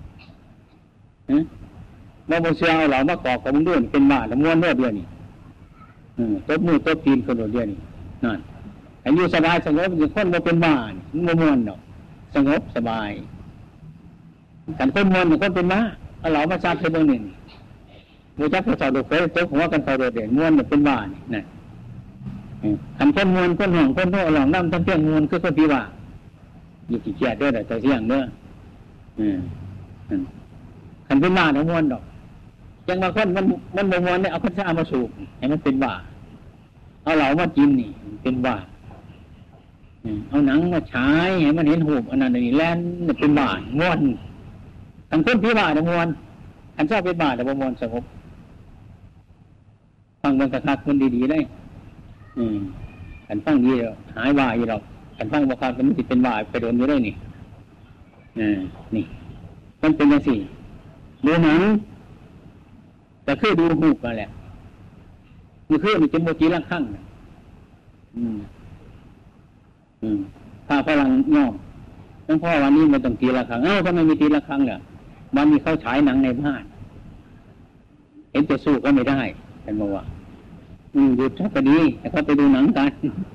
เราโมเสียเอาเหล่ามากอกกับมึงด้วยเป็นบ้าแล้วม้วนเรื่อยเดียวนี่ตบมือตบตีนคนเดียวนี่นั่นอายุสบายสงบอย่างคนโมเป็นบ้ามันม้วนเนาะสงบสบายกันคนม้วนอย่างคนเป็นบ้าเอาเหล่ามาชาติเบอร์หนึ่งโมจักพระเจ้าดูเคยตบหัวกันเขาโดดเด่นม้วนเป็นบ้านี่นั่นขันคนม้วนคนห่องคนโน่หลงน้ำทั้งเพียงม้วนคือคนที่ว่าอยู่ที่เกียรติด้วยแต่เสียงเด้อขันเป็นบ้าทั้งม้วนดอกยังมาคนมันม้วนเนี่ยเอาข้าวสารมาสูบให้มันเป็นบ้าเอาเหล่ามากินนี่เป็นบ้าเอาหนังมาฉายให้มันเห็นหูบอันนั้นนี่แล่นเป็นบ้าม้วนขันคนที่บ้าทั้งม้วนขันชอบเป็นบ้าแต่ม้วนสงบฟังมันกระทักมันดีๆได้ขันฟังดีหายบ้าอยู่หรอกขันฟังบอกว่ามันติดเป็นบ้าไปโดนอยู่ได้นี่นี่มันเป็นอย่างสี่ดูหนังแต่คือดูหูกันแหละมันคือมันเป็นโมจิละครั้งถ้าพลังย่อมทั้งพ่อวันนี้มันต้องตีละครั้งทำไมมีตีละครั้งเนี่ยวันนี้เขาฉายหนังในบ้านเห็นจะสู้ก็ไม่ได้ฉันบอกว่าหยุดก็ดีแต่เขาไปดูหนังกัน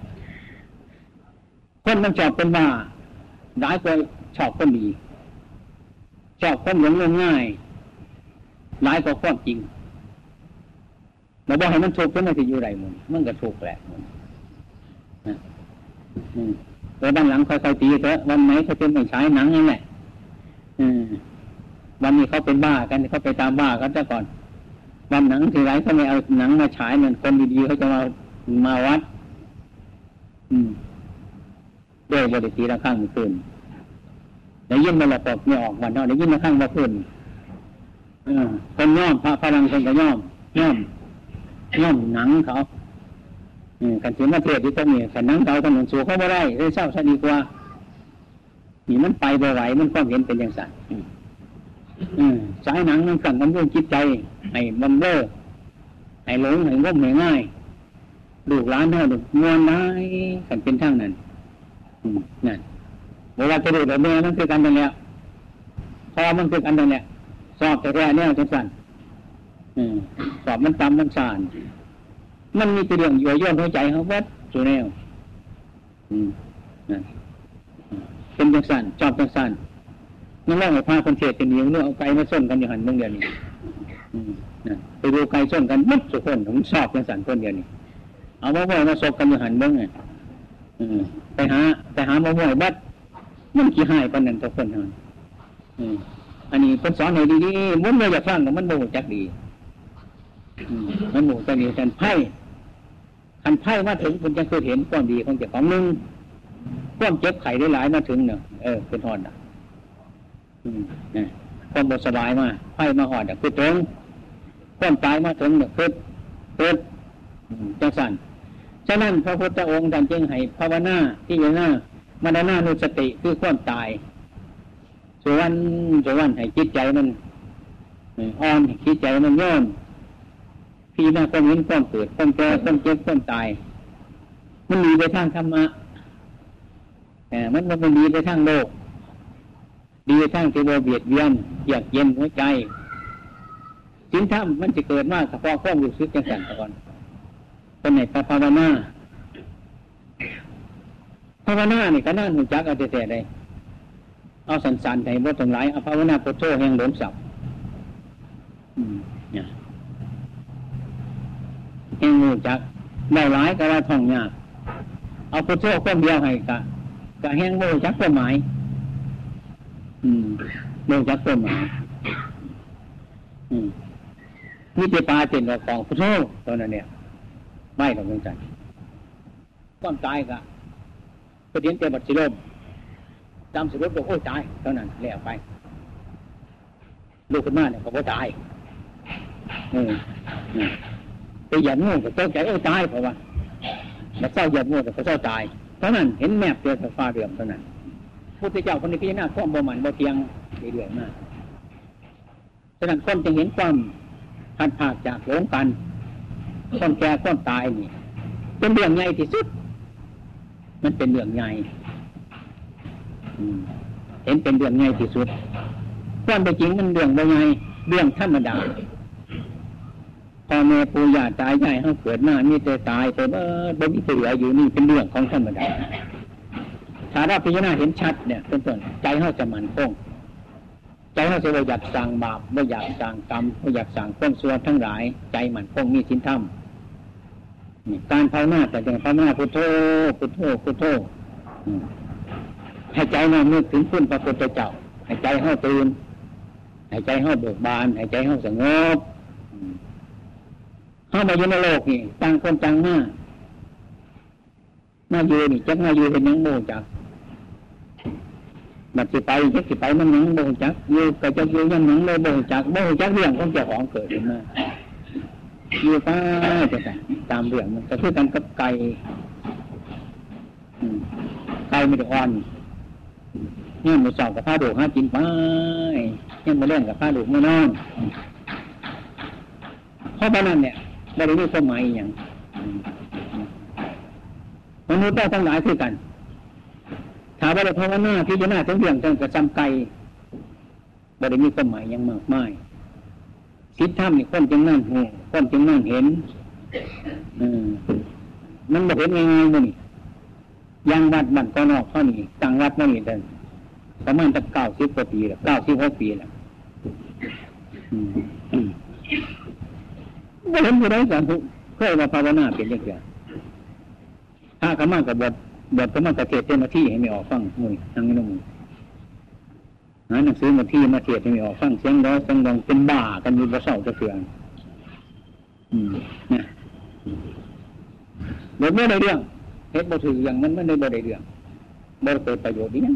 คนมันชอบเป็นบ้าร้ายกว่าชอบคนดีชอบคนหลงง่ายร้ายกว่าความจริงเราบอกให้มันถูกก็ไม่จะอยู่ไรมันก็ถูกแหละแล้วด้านหลังค่อยๆตีเถอะวันไหนเขาเป็นไม่ใช้หนังนั่นแหละวันนี้เขาเป็นบ้ากันเขาไปตามบ้ากันซะก่อนวันหนังทีไรเขาไม่เอาหนังมาฉายเหมือนคนดีๆเขาจะมาวัดด้วยบริตีละข้างมือคืนได้ยินมาละปอกเนี่ยออกวันเนาะได้ยินละข้างมาคืนคนย่อมพระพลังคนก็ย่อมหนังเขากันถึงมาเทศที่ตรงนี้แต่หนังเขาถนนสูงเขาไม่ได้เลยเศร้าซะดีกว่านี่มันไปบ่ไหวมันความเห็นเป็นอย่างสั่นสายหนังมันสั่งกำลังจิตใจให้บังเบ้อให้หลงให้งมให้ง่ายลูกหลานเท่าเด็กงวนได้กันเป็นทั้งนั้นนั่นเวลาจะดูแบบนี้มันคือกันนั่นแหละพอมันคือกันนั่นแหละสอบแต่แรกเนี่ยจังสั่นสอบมันตำมันสานมันมีตัวเรื่องย่อยย่นหัวใจเขาวัดสุแนวเป็นเป็นจังสันชอบจังสันนั่นแหละไอ้พาคนเทศจะเหนียวเนื้อเอาไก่มาส้นกันอยู่หันเมืองเดียวนี้ไปดูไก่ส้นกันมัดสุคนผมชอบจังสันคนเดียวนี้เอามะม่วงมาสกกันอยู่หันเมืองไงไปหามะม่วงบัดมันขี้หายปานนั้นทุกคนหันอันนี้คนสอนให้ดีๆมันไม่อยากฟังแต่มันโมโหจักดีมันโมโหจักดีกันไพ่คันไพ่มาถึงคุณจะเคยเห็นความดีของเจ้าของนึงความเจ็บไข้ได้หลายมาถึงเนี่ยเป็นหอดความบสบายมาไพ่มาหอดคือตรงความตายมาถึงเนี่ยคือจังสันฉะนั้นพระพุทธองค์ท่านจึงให้ภาวนาที่อยู่หน้ามรณานุสติคือความตายส่วนให้จิตใจมันอ่อนจิตใจมันย่อมพี่น้าความเห็นความเกิดความแก่ความเจ็บความตายมันมีไปทางธรรมะแต่มันไม่มีไปทางโลกดีไปทางที่ว่าเบียดเบียนอยากเย็นหัวใจสิ่งธรรมมันจะเกิดมากเฉพาะความรู้สึกจังสันก่อนเป็นไหนภาวนานี่ก็น่าหูจักเอาแต่ใดเอาสันๆให้บ่ต้องหลายเอาภาวนาพุทโธแห่งหลนศัพท์เนี่ยแห่งหูจักได้หลายก็ว่าท่องยากเอาพุทโธคนเดียวให้กะแห่งบ่จักความหมายบ่จักความหมายมีแต่ปลาเต็นของพุทโธตัวนั้นเนี่ยไม่หรอกจังความตายกะประเด็นแต่บัดสิลมจำสิลมบอกโอ้ตายเท่านั้นแล้วไปลูกขึ้นมาเนี่ยเขาบอกตายไปหยัดงูก็ตกใจโอ้ตายเพราะว่าแล้วเศร้าหยัดงูก็เศร้าตายเท่านั้นเห็นแมพเดียวกับฟ้าเดือมเท่านั้นพุทธเจ้าคนนี้พิจารณาความบ่มันบ่เทียงเรื่อยๆมากฉะนั้นคนจะเห็นความพัดผากจากหลงกันความแก่ความตายนี่เป็นเรื่องใหญ่ที่สุดมันเป็นเรื่องใหญ่เห็นเป็นเรื่องใหญ่ที่สุดความเป็นจริงมันเรื่องใหญ่เรื่องธรรมดาพ่อแม่ปู่ย่าตายายเขาเกิดมามีแต่ตายแต่บ่มีเหลืออยู่นี่เป็นเรื่องของธรรมดาถ้าเราพิจารณาเห็นชัดเนี่ยเป็นต้นใจเขาจะมั่นคงใจเขาจะไม่อยากสั่งบาปไม่อยากสั่งกรรมไม่อยากสั่งความชั่วทั้งหลายใจมั่นคงมีศีลธรรมการภาวนาแต่อย่างภาวนาพุทโธพุทโธพุทโธให้ใจน้อมนึกถึงคุณพระพุทธเจ้าให้ใจเขาตื่นให้ใจเขาเบิกบานให้ใจเขาสงบเข้ามาอยู่ในโลกนี่ต่างคนต่างมาอยู่นี่จักมาอยู่เป็นยังโมจักบัดสิไปจักสิไปมันยังโมจักอยู่ก็จะอยู่ยังยังโมจักเรื่องของเจ้าของเกิดขึ้นมาอยู่ไปตามเรื่องมันก็คือกันกับไก่ไม่ได้อ่อนเนี่ยมันสอบกับผ้าดูหากินไปเนี่ยมาเล่นกับผ้าดูไม่นอนเพราะฉะนั้นเนี่ยไม่ได้มีความหมายอย่างมนุษย์ทั้งหลายคือกันถามว่าเราภาวนาพิจารณาทั้งเรื่องทั้งกระจำไก่ไม่ได้มีความหมายอย่างมากมายคิดทำนี่คนจึงนั่นหูคนจึงนั่นเห็นมันไม่เห็นง่ายๆมันนี่ยังวัดบ้านก็นอกเท่านี้ต่างวัดนั่นนี่แต่ประมาณจะ90 กว่าปีแล้ว96 ปีแล้วไม่เห็นผู้ใดสอนเคยมาภาวนาเป็นอย่างเดียวถ้าขม่ากับบทขม่ากระเทศเจ้าหน้าที่ให้ไม่ออกฟังมือทางนี้มือหนังสือมาที่มาเทศให้ไม่ออกฟังเสียงร้อยเสียงดังเป็นบ้ากันอยู่ประเสริฐจะเสื่อมเนี่ยบทไม่ได้เรื่องเฮ็ดบ่ถืออย่างนั้นไม่ได้บ่ได้เรื่องบ่เกิดประโยชน์นี้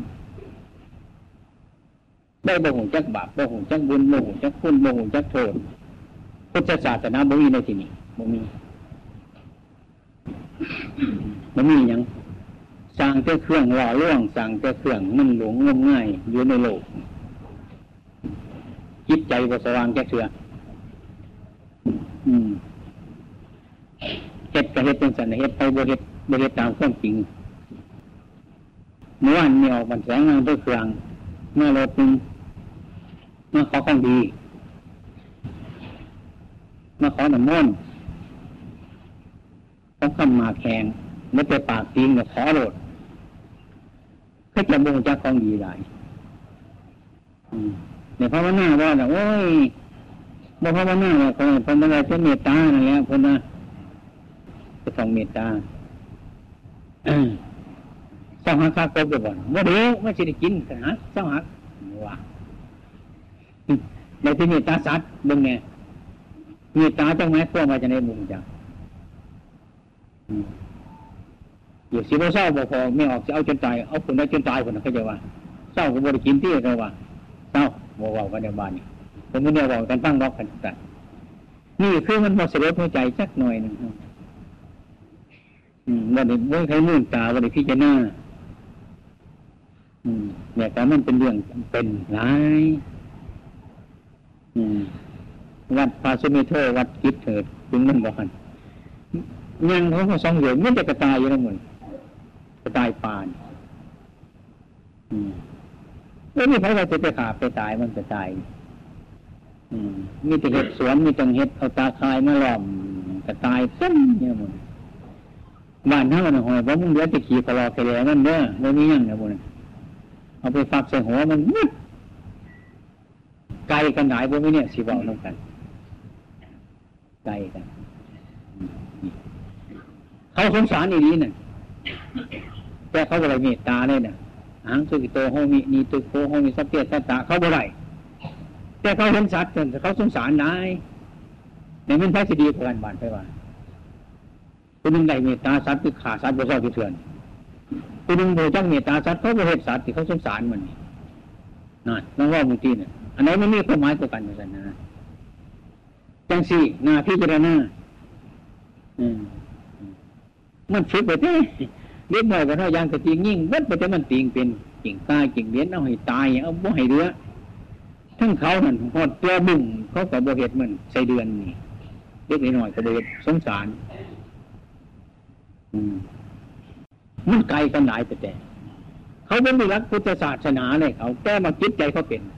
ได้บ่หูจักบาปบ่หูจักบุญบ่หูจักคุณบ่หูจักโทษพุทธศาสนาบ่มีในที่นี้บ่มีอย่างสร้างแต่เครื่องหล่อล่วงสร้างแต่เครื่องมันหลงงมง่ายอยู่ในโลกจิตใจบ่สว่างแก่เชือเฮ็ดก็เฮ็ดเป็นสันเฮ็ดไปบ่เฮ็ดตามความจริงเมื่อวานมีออกบันแสงงานด้วยเครื่องเมื่อรถนึงมาขอของดีมาขอน้ำมนต์เขาคำมาแข่งไม่ไปปากตีนกับขอโหลดเคเขาจะบ่งจากของดีได้เนี่ยภาวนาว่าน่ะโอ้ยบ่ภาวนาเนี่ยคนภาวนาเป็นเมตตานั่นแหละคนน่ะจะต้องเมตตาเจ้าหักข้ากบไปบ่อนว่าเดี๋ยวไม่ใช่ได้กินกันนะเจ้าหักว่าในที่เมตตาสัตว์เบิ่งไงเมตตาจังไหมพวกมาจะในมุมจังอยู่สิบ่เศร้าบ่พอไม่ออกจะเอาจนตายเอาคนได้จนตายคนนั้นเขาจะว่าเศร้าก็บ่ได้กินที่เขาว่าเศร้าบ่เว้ากันในบ้านนี่ผมไม่ได้เว้ากันฟังรอกกันแต่นี่คือมันบ่สลดหัวใจสักหน่อยนึงบ่ได้บ่ใครมุ่งตาบ่ได้พิจารณาเนี่ยแต่มันเป็นเรื่องเป็นหลายวัดพาสุเมโธวัดกิจเถิดถึงนั่นบ่คันยังเขาก็2 เดือนมันจะกระตายอยู่แล้วมึงกระตายปานแล้วนี่ใครว่าจะไปขาไปตายมันจะตายมีแต่เห็ดสวนมีแต่เห็ดเอาตาคายมาล้อมกระตายเต็มเนี่ยมึงบ้านเฮาน่ะหอยบ่มึงเดี๋ยวจะขี่คลอแค่แล้วนั่นเด้อบ่มีหยังนะบ่น่ะเอาไปฝักใส่หัวมันไกลกันหลายบ่มีเนี่ยสิเว้านำกันไกลกันเขาสงสารอีนี้น่ะแต่เขาบ่ได้เมตตาเลยน่ะหังสุกิโตโหมินีตุโกโหมิสัพเพสัตตะเขาบ่ได้แต่เขาเห็นสัตว์แต่เขาสงสารนายในมันใช้สิดีกว่ากันบานไปว่าผู้นึงได้เมตตาสัตว์คือฆ่าสัตว์บ่ชอบเถื่อนผู้นึงบ่จักเมตตาสัตว์เขาบ่เฮ็ดสัตว์ที่เขาสงสารมันนั่นลองว่าบางทีน่ะอันไหนมันมีความหมายกว่ากันว่าซั่นนะจังซี่น่าพิจารณามันฝึกไปเด้เล็กน้อยก็เท่าอย่างกระติงยิ่งเบิดไปแต่มันติงเป็นกิ่งกายกิ่งเลี้ยนเอาให้ตายเอาบ่ให้เรือทั้งเขานั่นฮอดตัวบุ้งเขาก็บ่เฮ็ดมันใส่เดือนนี่เล็กน้อยก็บ่เฮ็ดสงสารมันไกลกันหลายแต่เขาบ่มีหลักพุทธศาสนาเลยเขาแต่มาจิตใจเขาเป็น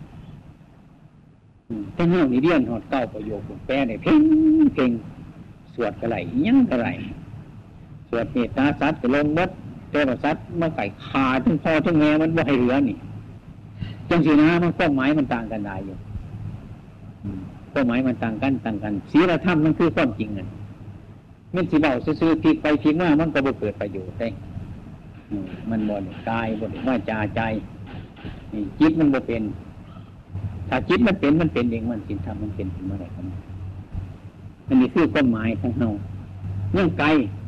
แต่เฮานี่เรียนฮอด9 ประโยคแปลได้เพ่งสวดก็ไหลยังก็ไหลสวดเมตตาสัตว์ก็ลงมดแต่ว่าสัตว์มาไก่ขาทั้งพ่อทั้งแม่มันบ่ให้เหลือนี่จังสินะมันความหมายมันต่างกันได้อยู่ความหมายมันต่างกันศีลธรรมมันคือความจริงนั่นมันสิเว้าซื่อๆพลิกไปพลิกมามันก็บ่เกิดประโยชน์ได้มันบ่ได้กายบ่ได้วาจาใจจิตมันบ่เป็นถ้าจิตมันเป็นเองมันศีลธรรมมันเป็นเมื่อไหร่กันอันนี้คือความหมายของเฮายังไกล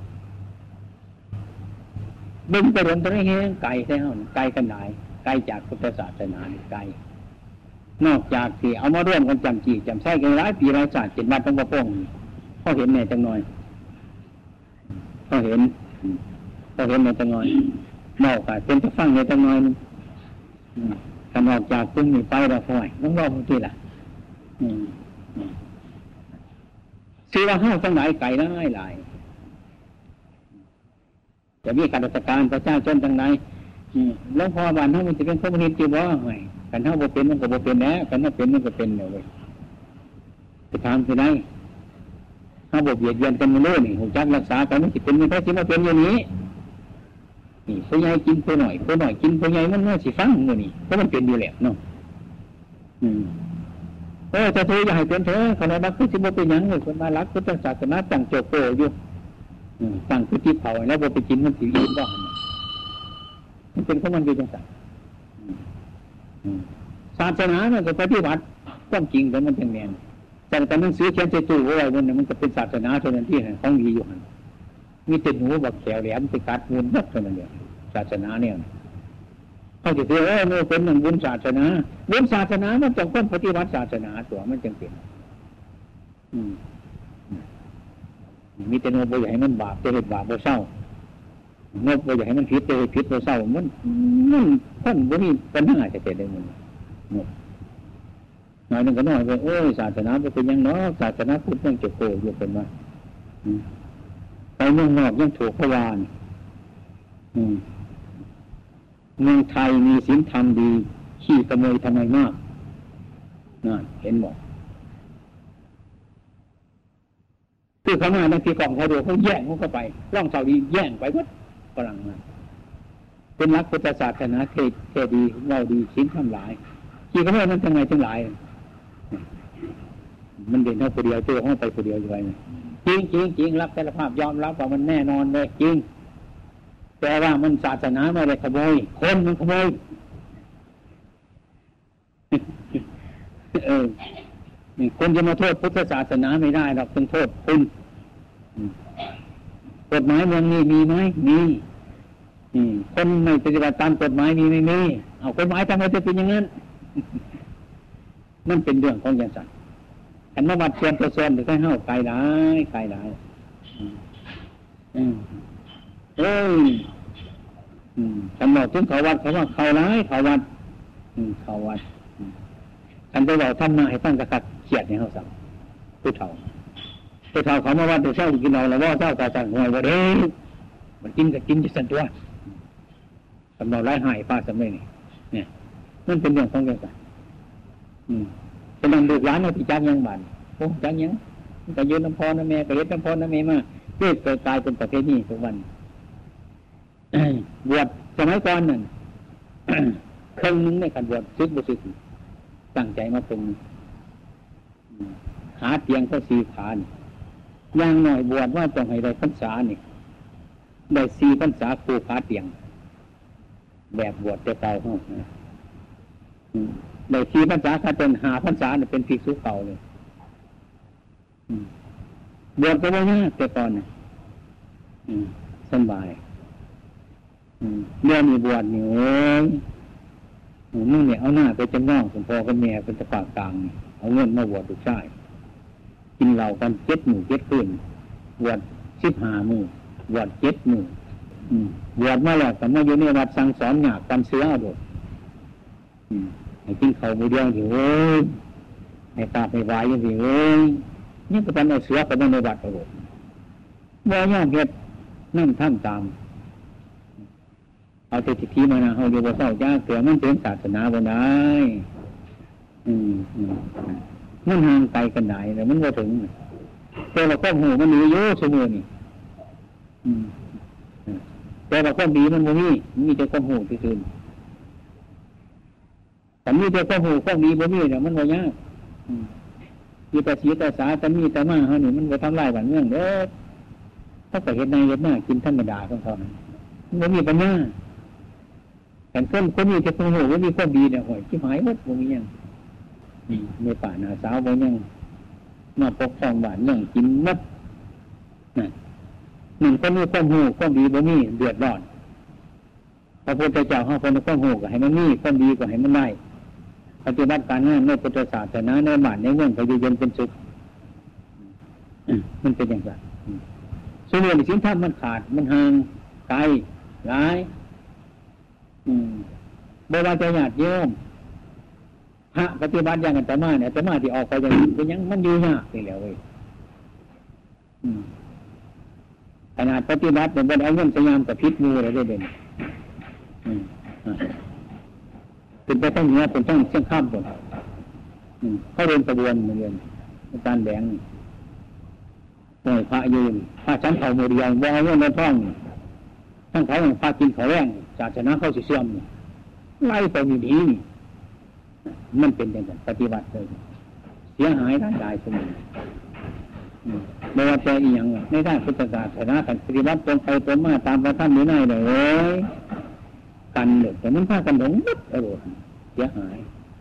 บึงไปรวมตัวนี้แห้งไกลใช่ไหมไกลกันไหนไกลจากพุทธศาสนาไกลนอกจากที่เอามาร่วมกันจำจีจำใช้กันหลายปีหลายศาสตร์7 วันต้องมาป้องเขาเห็นแน่จังหน่อยเขาเห็นแน่จังหน่อยนอกจากเป็นจะฟังแน่จังหน่อยถ้านอกจากตึ้งมีไปเราค่อยต้องรอเมื่อกี้ล่ะซื้อว่าห้าตั้งหลายไก่หลายจะมีการราชการประชาชนทั้งหลายหลวงพ่อบ้านเฮามันจะเป็นคอมมิวนิสต์อยู่บ่ไงกันเฮาบ่เป็นมันก็บ่เป็นแหละกันเฮาเป็นมันก็เป็นเว้ยจะถามสิได้เฮาบ่เบียดเบียนกันมาเลยนี่ฮู้จักรักษากันมันสิเป็นมันก็สิมาเป็นอย่างนี้นี่ผู้ใหญ่กินผู้น้อยกินผู้ใหญ่มันสิฟังมื้อนี้เพราะมันเป็นอยู่แล้วเนาะจะเธออย่าให้เป็นเธอขณะนั้นคือสิบ่เป็นหยังเลยคนมารักพุทธศาสนาตั้งโจโกอยู่ตั้งคือที่เผาแล้วบ่ไปกินมันสิอิ่มบ่มันเป็นของมันอยู่จังซั่นศาสนามันก็ปฏิบัติความจริงแต่มันจังแม่นแต่หนังสือเขียนใส่ตู้ไว้มันก็เป็นศาสนาเท่านั้นที่ของดีอยู่หั่นมีแต่หนูบักแขวแหลมไปกัดมูลหมดเท่านั้นเดียวศาสนาเนี่ยเขาจะเรียกว่ามันเป็นหนึ่งบุญศาสนามันต้องต้นปฏิบัติศาสนาตัวมันจึงเป็นมีแต่โน้ตบ่อยากให้มันบาปจะเห็นบาปบ่เศร้าโน้ตบ่อยากให้มันผิดจะเห็นผิดบ่เศร้ามันท่านบ่มีปัญหาจะเกิดได้มันโน้ตหน่อยนึงก็น้อยไปศาสนาเป็นยังเนาะศาสนาพุทธยังจะโกอยู่เป็นว่าไปเมืองนอกยังถูกพวานเมืองไทยมีศีลธรรมดีขี้ขโมยทำไมมากนั่นเห็นหมดคือเขามาในที่กองเขาดูเขาแย่งเขาเข้าไปร่องเสาดีแย่งไปวัดฝรั่งมาเป็นหลักพุทธศาสนาเทดีเล่าดีชิ้นทำหลายขี้ก็ไม่นั้นทั้งไงทั้งหลายมันเด่นเท่าคนเดียวตัวห้องไปคนเดียวอยู่ไงจริงจริงจริงรับสารภาพยอมรับว่ามันแน่นอนเลยจริงแต่ว่ามันศาสนาไม่ได้ขโมยคนมันขโมยคนจะมาโทษพุทธศาสนาไม่ได้หรอกต้องโทษคุณกฎหมายเมืองนี้มีไหมมีคนไม่ปฏิบัติตามกฎหมายมีไม่มีเอากฎหมายทำไมจะเป็นอย่างนั้นนั่นเป็นเรื่องของอย่างสัตว์อันมาวัดเชียนตัวเชียนหรือแค่เฮ้าไกลหลายฉันบอกถึงเขาวัดเขาว่าเขาร้ายเขาวัดเขาวัดฉันไปบอกทำมาให้ตั้งกระขัดเขียดในเขาสั่งผู้เฒ่าเขามาวัดตัวเช้ากินเราแล้วว่าเช้ากาสั่งหวยว่ามันกินกับกินจะสั่นตัวสำนองร้ายหายป้าสำเร็จเนี่ยนั่นเป็นเรื่องของเรื่องกันจะนำดูร้านเอาที่จังยังบันโอ้จังยังแต่ยืนน้ำพอน้ำแม่ก็เฮ็ดน้ำพอน้ำแม่มาเกิดกลายเป็นประเภทนี้ทุกวันบวชสมัยก่อนนั่นครึ่งนึงในการบวชซึกบุซึกตั้งใจมาเป็นหาเตียงก็4 ขาย่างหน่อยบวชว่าต้องให้ได้พรรษานี่ได้4 พรรษาครูขาเตียงแบบบวชจะเก่าเข้าได้4 พรรษาถ้าเป็น5 พรรษาเนี่ยเป็นภิกษุเก่าเลยบวชก็ไม่ยากแต่ก่อนเนี่ยสบายเรื่องมีบวชนี่โอ้ยมึงเนี่ยเอาหน้าไปจำนองสมพอกับแม่เป็นตะปากกลางเอาเงินมาบวชดูใช่กินเหล้ากัน7 มื้อ 7 คืนบวช15 มื้อบวช7 มื้อบวชมาแล้วแต่มาอยู่ในวัดสั่งสอนหยาบกันเสือเอาโดดให้กินข้าวมื้อเดียวอยู่เอ้ยให้ตาไปวายอยู่สิเอ้ยนี่ก็เป็นเอาเสือไปในวัดเอาโดดบ่ยอมเฮ็ดนั่นทำตามเอาแต่ทิฏฐิมานะเอาอยู่บ่เศร้าจ้าเกิดมันเป็นศาสนาบ่ได้มันห่างไกลกันได้แต่มันบ่ถึงแต่เราก็หูมันมีเยอะชั่วโมงนี่แต่เราก็ดีมันบ่มีแต่ความหูที่อื่นแต่มีแต่ความหูความดีบ่มีเนี่ยมันบ่ยากมีแต่ศีลแต่สาแต่มีแต่มาเฮานี่มันบ่ทำลายบ้านเมืองเด้อถ้าก็เฮ็ดในเฮ็ดหน้ากินธรรมดาของเขามันบ่มีปัญญาแต่คนมีแต่ความหูบ่มีความดีเนี่ยโหยชิบหายหมดบ่มีหยังนี่ในป่าหน้าสาวบ่ยังมาปกครองบ้านเมืองกินหมดนั่นก็มีความหูความดีบ่มีเดือดร้อนพระพุทธเจ้าเฮาเพิ่นความหูก็ให้มันมีความดีก็ให้มันได้ปฏิบัติการงานในพุทธศาสนาในบ้านในเมืองก็อยู่เย็นเป็นสุขมันเป็นอย่างไรส่วนเรื่องศีลธรรมมันขาดมันห่างไกลหลายบ่ว่าจะญาติโยมพระปฏิบัติอย่างอาตมาเนี่ยอาตมาที่ออกไปอย่างนี้เป็นยังมันอยู่ยากนี่แหละเว้ยขนาดปฏิบัติเนี่ยบ่ได้เอาเงินพยายามกับพิษงูอะไรด้วยเด่นเป็นไปต้องเหนือเป็นต้องเชี่ยงข้ามหมดเขาเรียนกระบวนเรียนอาจารย์แดงหน่วยพระยืนพระชั้นเขาโมเดียงบ่เอาเงินในท้องทั้งเขาพระกินเขาแรงศาสนาเขาเสื่อมไล่ไปดีมันเป็นอย่างนั้นปฏิบัติเลยเสียหายร่างกายสมองไม่ว่าจะอีกอย่างในด้านพุทธศาสนาการปฏิบัติตรงไปตรงมาตามพระท่านนี้ได้เลยกันเลยแต่มันพากันหลงมัดอารมณ์เสียหาย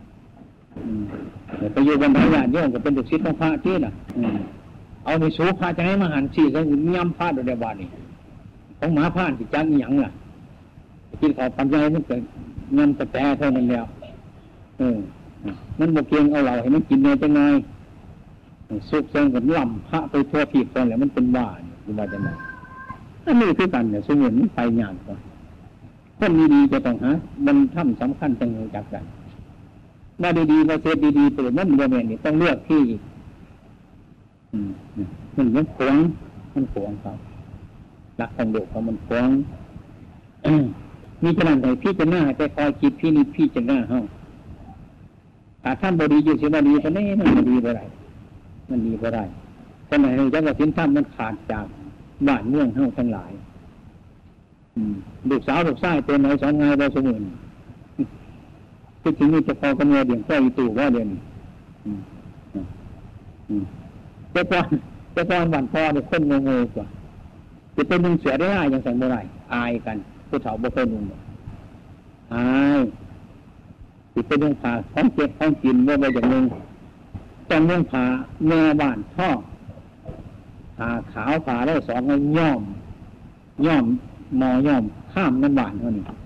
ไปอยู่บนพระญาติโยมก็เป็นดุจศิษย์ของพระที่น่ะเอาไปสู้พระจะให้มหันต์สี่ก็มีย่ำพระโดยเดียวกันนี่ของหมาพานที่จ้างอีหยังล่ะกินข้าวปัญญามันเกิดเงินแต่เท่านั้นแล้วมันบกเกียงเอาเราให้มันกินเนื้อจังไงสุกเซิงกับล่ำพระไปทั่วผิดตอนแล้วมันเป็นบ้าหรือว่าจะไงอันนี้คือกันเนี่ยสมุนมันไปหยาบกว่าคนดีๆจะต้องหามันทำสำคัญจังเลยจากกันมาดีๆมาเสร็จดีๆเปิดนั่นโมเมนต์นี่ต้องเลือกที่มันขวางครับรักของโลกเขามันขวางมีขนาดไหนพี่จะหน้าแต่คอยคิดพี่จะหน้าเฮาถ้าท่านบดีอยู่เสียบดีตอนนี้มันดีบ่ได้ขณะนี้จักรศีลธรรมมันขาดจากบ้านเมืองเฮาทั้งหลายลูกสาวลูกชายเป็นไหนสองไงได้สมุนคิดถึงนี่จะพอกำเนิดเดี่ยงก็อีตู่ว่าเด่นเจ้าป้อนบ้านพ่อเนี่ยคนงงกว่าจะเป็นนุ่งเสือได้อย่างสันโบราณอายกันผู้เฒ่าบ่เคยนุ่งอายจะเป็นนุ่งผ้าของเก็บของกินว่าไปอย่างนึงต้องนุ่งผ้าแม่บ้านท่อผ้าขาวผ้าได้สองย่อมมอย่อมข้ามน้ำบานเท่านี้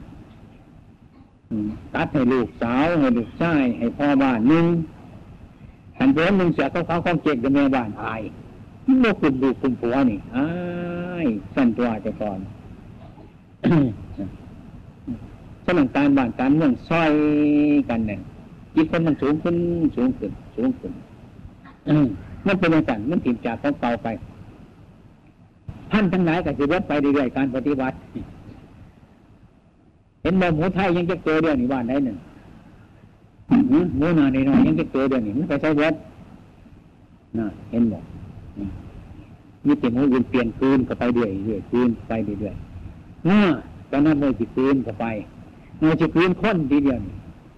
ตัดให้ลูกสาวให้ลูกชายให้พ่อบ้านนึงหันไปนึงเสียเขาของเก็บกับแม่บ้านอายโลกคุณดูคุณผัวนี่อ้ายสั่นตัวแต่ก่อนสนังการบ้านการเมืองซอยกันเนี่ยจิตคนมันสูงขึ้นมันเป็นอย่างนั้นมันถิ่นจากของเก่าไปท่านทั้งหลายก็จะลดไปเรื่อยๆการปฏิบัติเห็นบ่หมูไทยยังจะเจอเรื่องนี้บ้านได้หนึ่งหมูนาในน้อยยังจะเจอเรื่องนี้มันไปใช้รถน่ะเห็นบ่มีแต่หมูอื่นเปลี่ยนคืนก็ไปเรื่อยคืนไปเรื่อยตอนนั้นเลยจิคืนก็ไปเราจะคืนค้นทีเดียว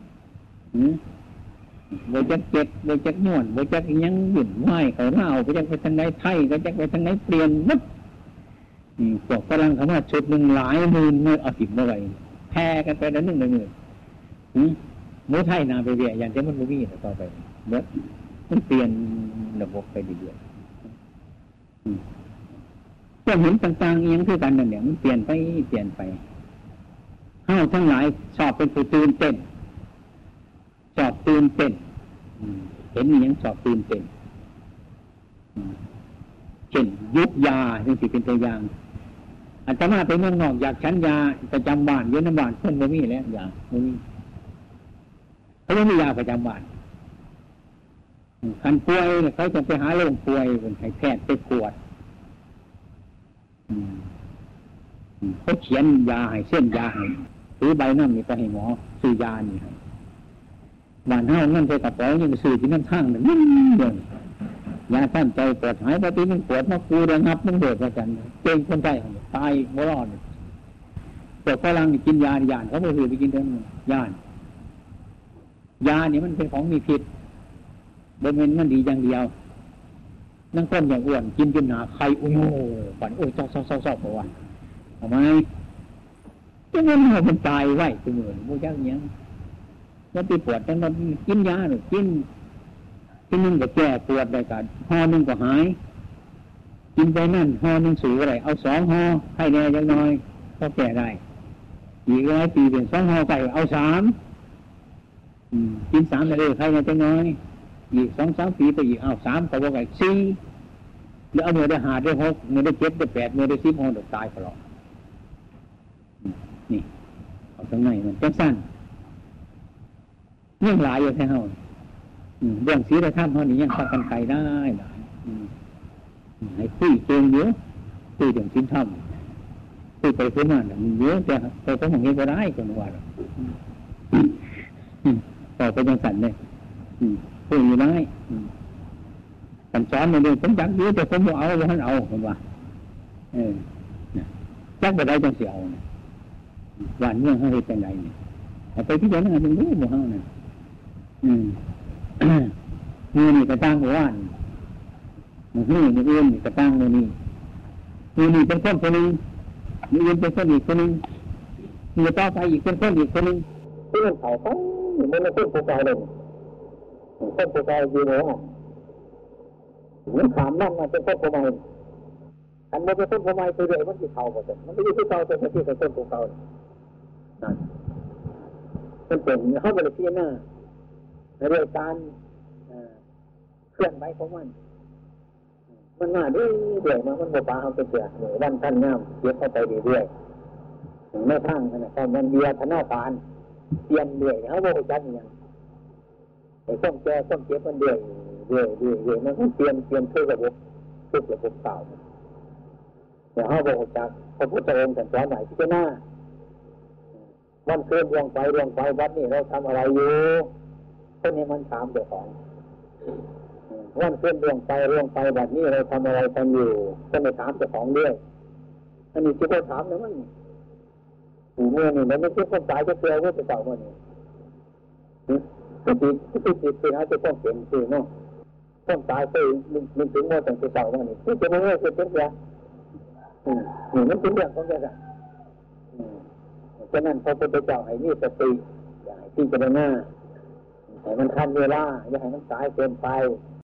โบจักเจ็บโบจักนวดโบจักยังหยุ่นไหวเขาเล่าโบจักไปทางไหนไทยโบจักไปทางไหนเปลี่ยนมัดพวกฝรั่งเขาว่าชุดหนึ่งหลายหมื่นเอาสิบเมื่อไหร่แพ้กันไปแล้ว1 หมื่นหมูไทยนาไปเรียอย่างที่มันไม่มีต่อไปเมื่อมันเปลี่ยนระบบไปเรื่อยๆก็เห็นต่างๆเอียงคือกันนั่นแหละมันเปลี่ยนไปห้าวทั้งหลายชอบเป็นผู้ตื่นเต้นชอบตื่นเต้นเห็นอย่างชอบตื่นเต้นเช่นยุบยาจึงสิเป็นตัวอย่างอาตมาไปเมืองนอกอยากฉันยาประจำบ้านเยอะน้ำบ้านเพิ่นบ่มีแล้วยาบ่มีเขาไม่มียาประจำบ้านคันป่วยเขาจะไปหาโรงป่วยเป็นให้แพทย์ไปตรวจเขาเขียนยาให้เส้นยาให้ถือใบน้ำนี่ไปให้หมอซื้อยานี่ให้บ้านเฮานั่นไปกระเป๋ายังซื้อที่นั่นทางนั่นเดินยาท่านใจปวดหายปกติมันปวดมาคูระงับมันเดือดประจันเก่งคนใจตายไม่รอดแต่ฝรั่งกินยาเขาไม่เคยไปกินเท่านั้นยาเนี่ยมันเป็นของมีพิษโดยมันดีอย่างเดียวนั่งก้นอย่างอ้วนกินจนหนาไข่โอ้ยฝันโอ้ยเศร้าประวันทำไมจะเงินมันตายไว้ตัวเหมือนมูยักษ์เนี้ยแล้วไปปวดจังมันกินยาหรือกินนึงก็แก้ปวดได้กันห่อนึงก็หายกินไปนั่นห่อนึงสูงอะไรเอา2 ห่อให้แน่ยังน้อยก็แก้ได้อีก100 ปีเป็น2 ห่อไก่เอา3กิน3เลยใครยังจะน้อยอีก2-3 ปีไปอีกเอา3ก็ว่าไก่4แล้วเอาเมื่อได้5ได้6เมื่อได้7ได้8เมื่อได้10 ห่อตายตลอดนี่เอาตรงไหนมันจังสั้นเรื่องหลายอยู่แค่เฮาเรื่องศีลธรรมเท่านี้ยังพากันไกลได้หลายให้คุยเก่งเยอะคุยเรื่องศีลธรรมคุยไปคุยมาเนี่ยเยอะแต่ไปก็มองเห็นก็ได้คนว่าต่อไปยังสั่นเลยคุยอยู่ได้สั่นสอนในเรื่องผมจักเยอะแต่ผมเอาท่านเอาคนว่าจักไปได้จังเสียววันเมื่อเขาเห็นจังไรเนี่ยไปที่เดียวนั่นเป็นรู้หมดเขาเนี่ยมือนี่กระตั้งหัววันมืออื่นกระตั้งมือนี่เป็นคนนึงมืออื่นเป็นคนอีกคนนึงมือต่อไปอีกเป็นคนอีกคนนึงเพื่อนเขามันไม่เป็นผู้กายเลยคนผู้กายอยู่ไหนอ่ะมันถามนั่นมาเป็นคนผู้กายอันนี้เป็นคนผู้กายไปเรื่อยมันที่เขาหมดเลยมันไม่ใช่ที่เขาแต่ที่เป็นคนผู้กายนั่นมันเป็นเขาเป็นที่หน้าในเรื่องการเคลื่อนไหวของมันมาเรื่อยๆมันบ่ปาเอาไปเสียเหมือนวันท่านงามเก็บเข้าไปเรื่อยๆไม่ทั้งนะครับมันเบียร์ธนาคารเปลี่ยนเรื่อยเขาบอกจัดอย่างไอ้ต้นแก่ต้นเก็บมันเรื่อยมันเปลี่ยนเพื่อระบบเก่าเดี๋ยวเขาบอกจัดพระพุทธองค์สอนไหนที่จะหน้าวันเกิดดวงไฟวัดนี่เราทำอะไรอยู่คนนี้มันถามเจ้าของวันเกิดดวงไฟวัดนี่เราทำอะไรกันอยู่ก็ไม่ถามเจ้าของด้วยอันนี้ที่เขาถามนะมันเมื่อนี่มันไม่ใช่ความตายจะเสียว่าจะเก่าเมื่อนี่ติดนะจะต้องเปลี่ยนชื่อเนาะความตายเคยมันถึงเมื่อตั้งแต่เก่าเมื่อนี่ที่จะไม่ให้เป็นเสียนี่มันเป็นเรื่องของแกกันฉะนั้นพระพุทธเจ้าให้มีสติอย่าให้ที่จะได้หน้าให้มันทันเวลาอย่าให้มันสายเกินไป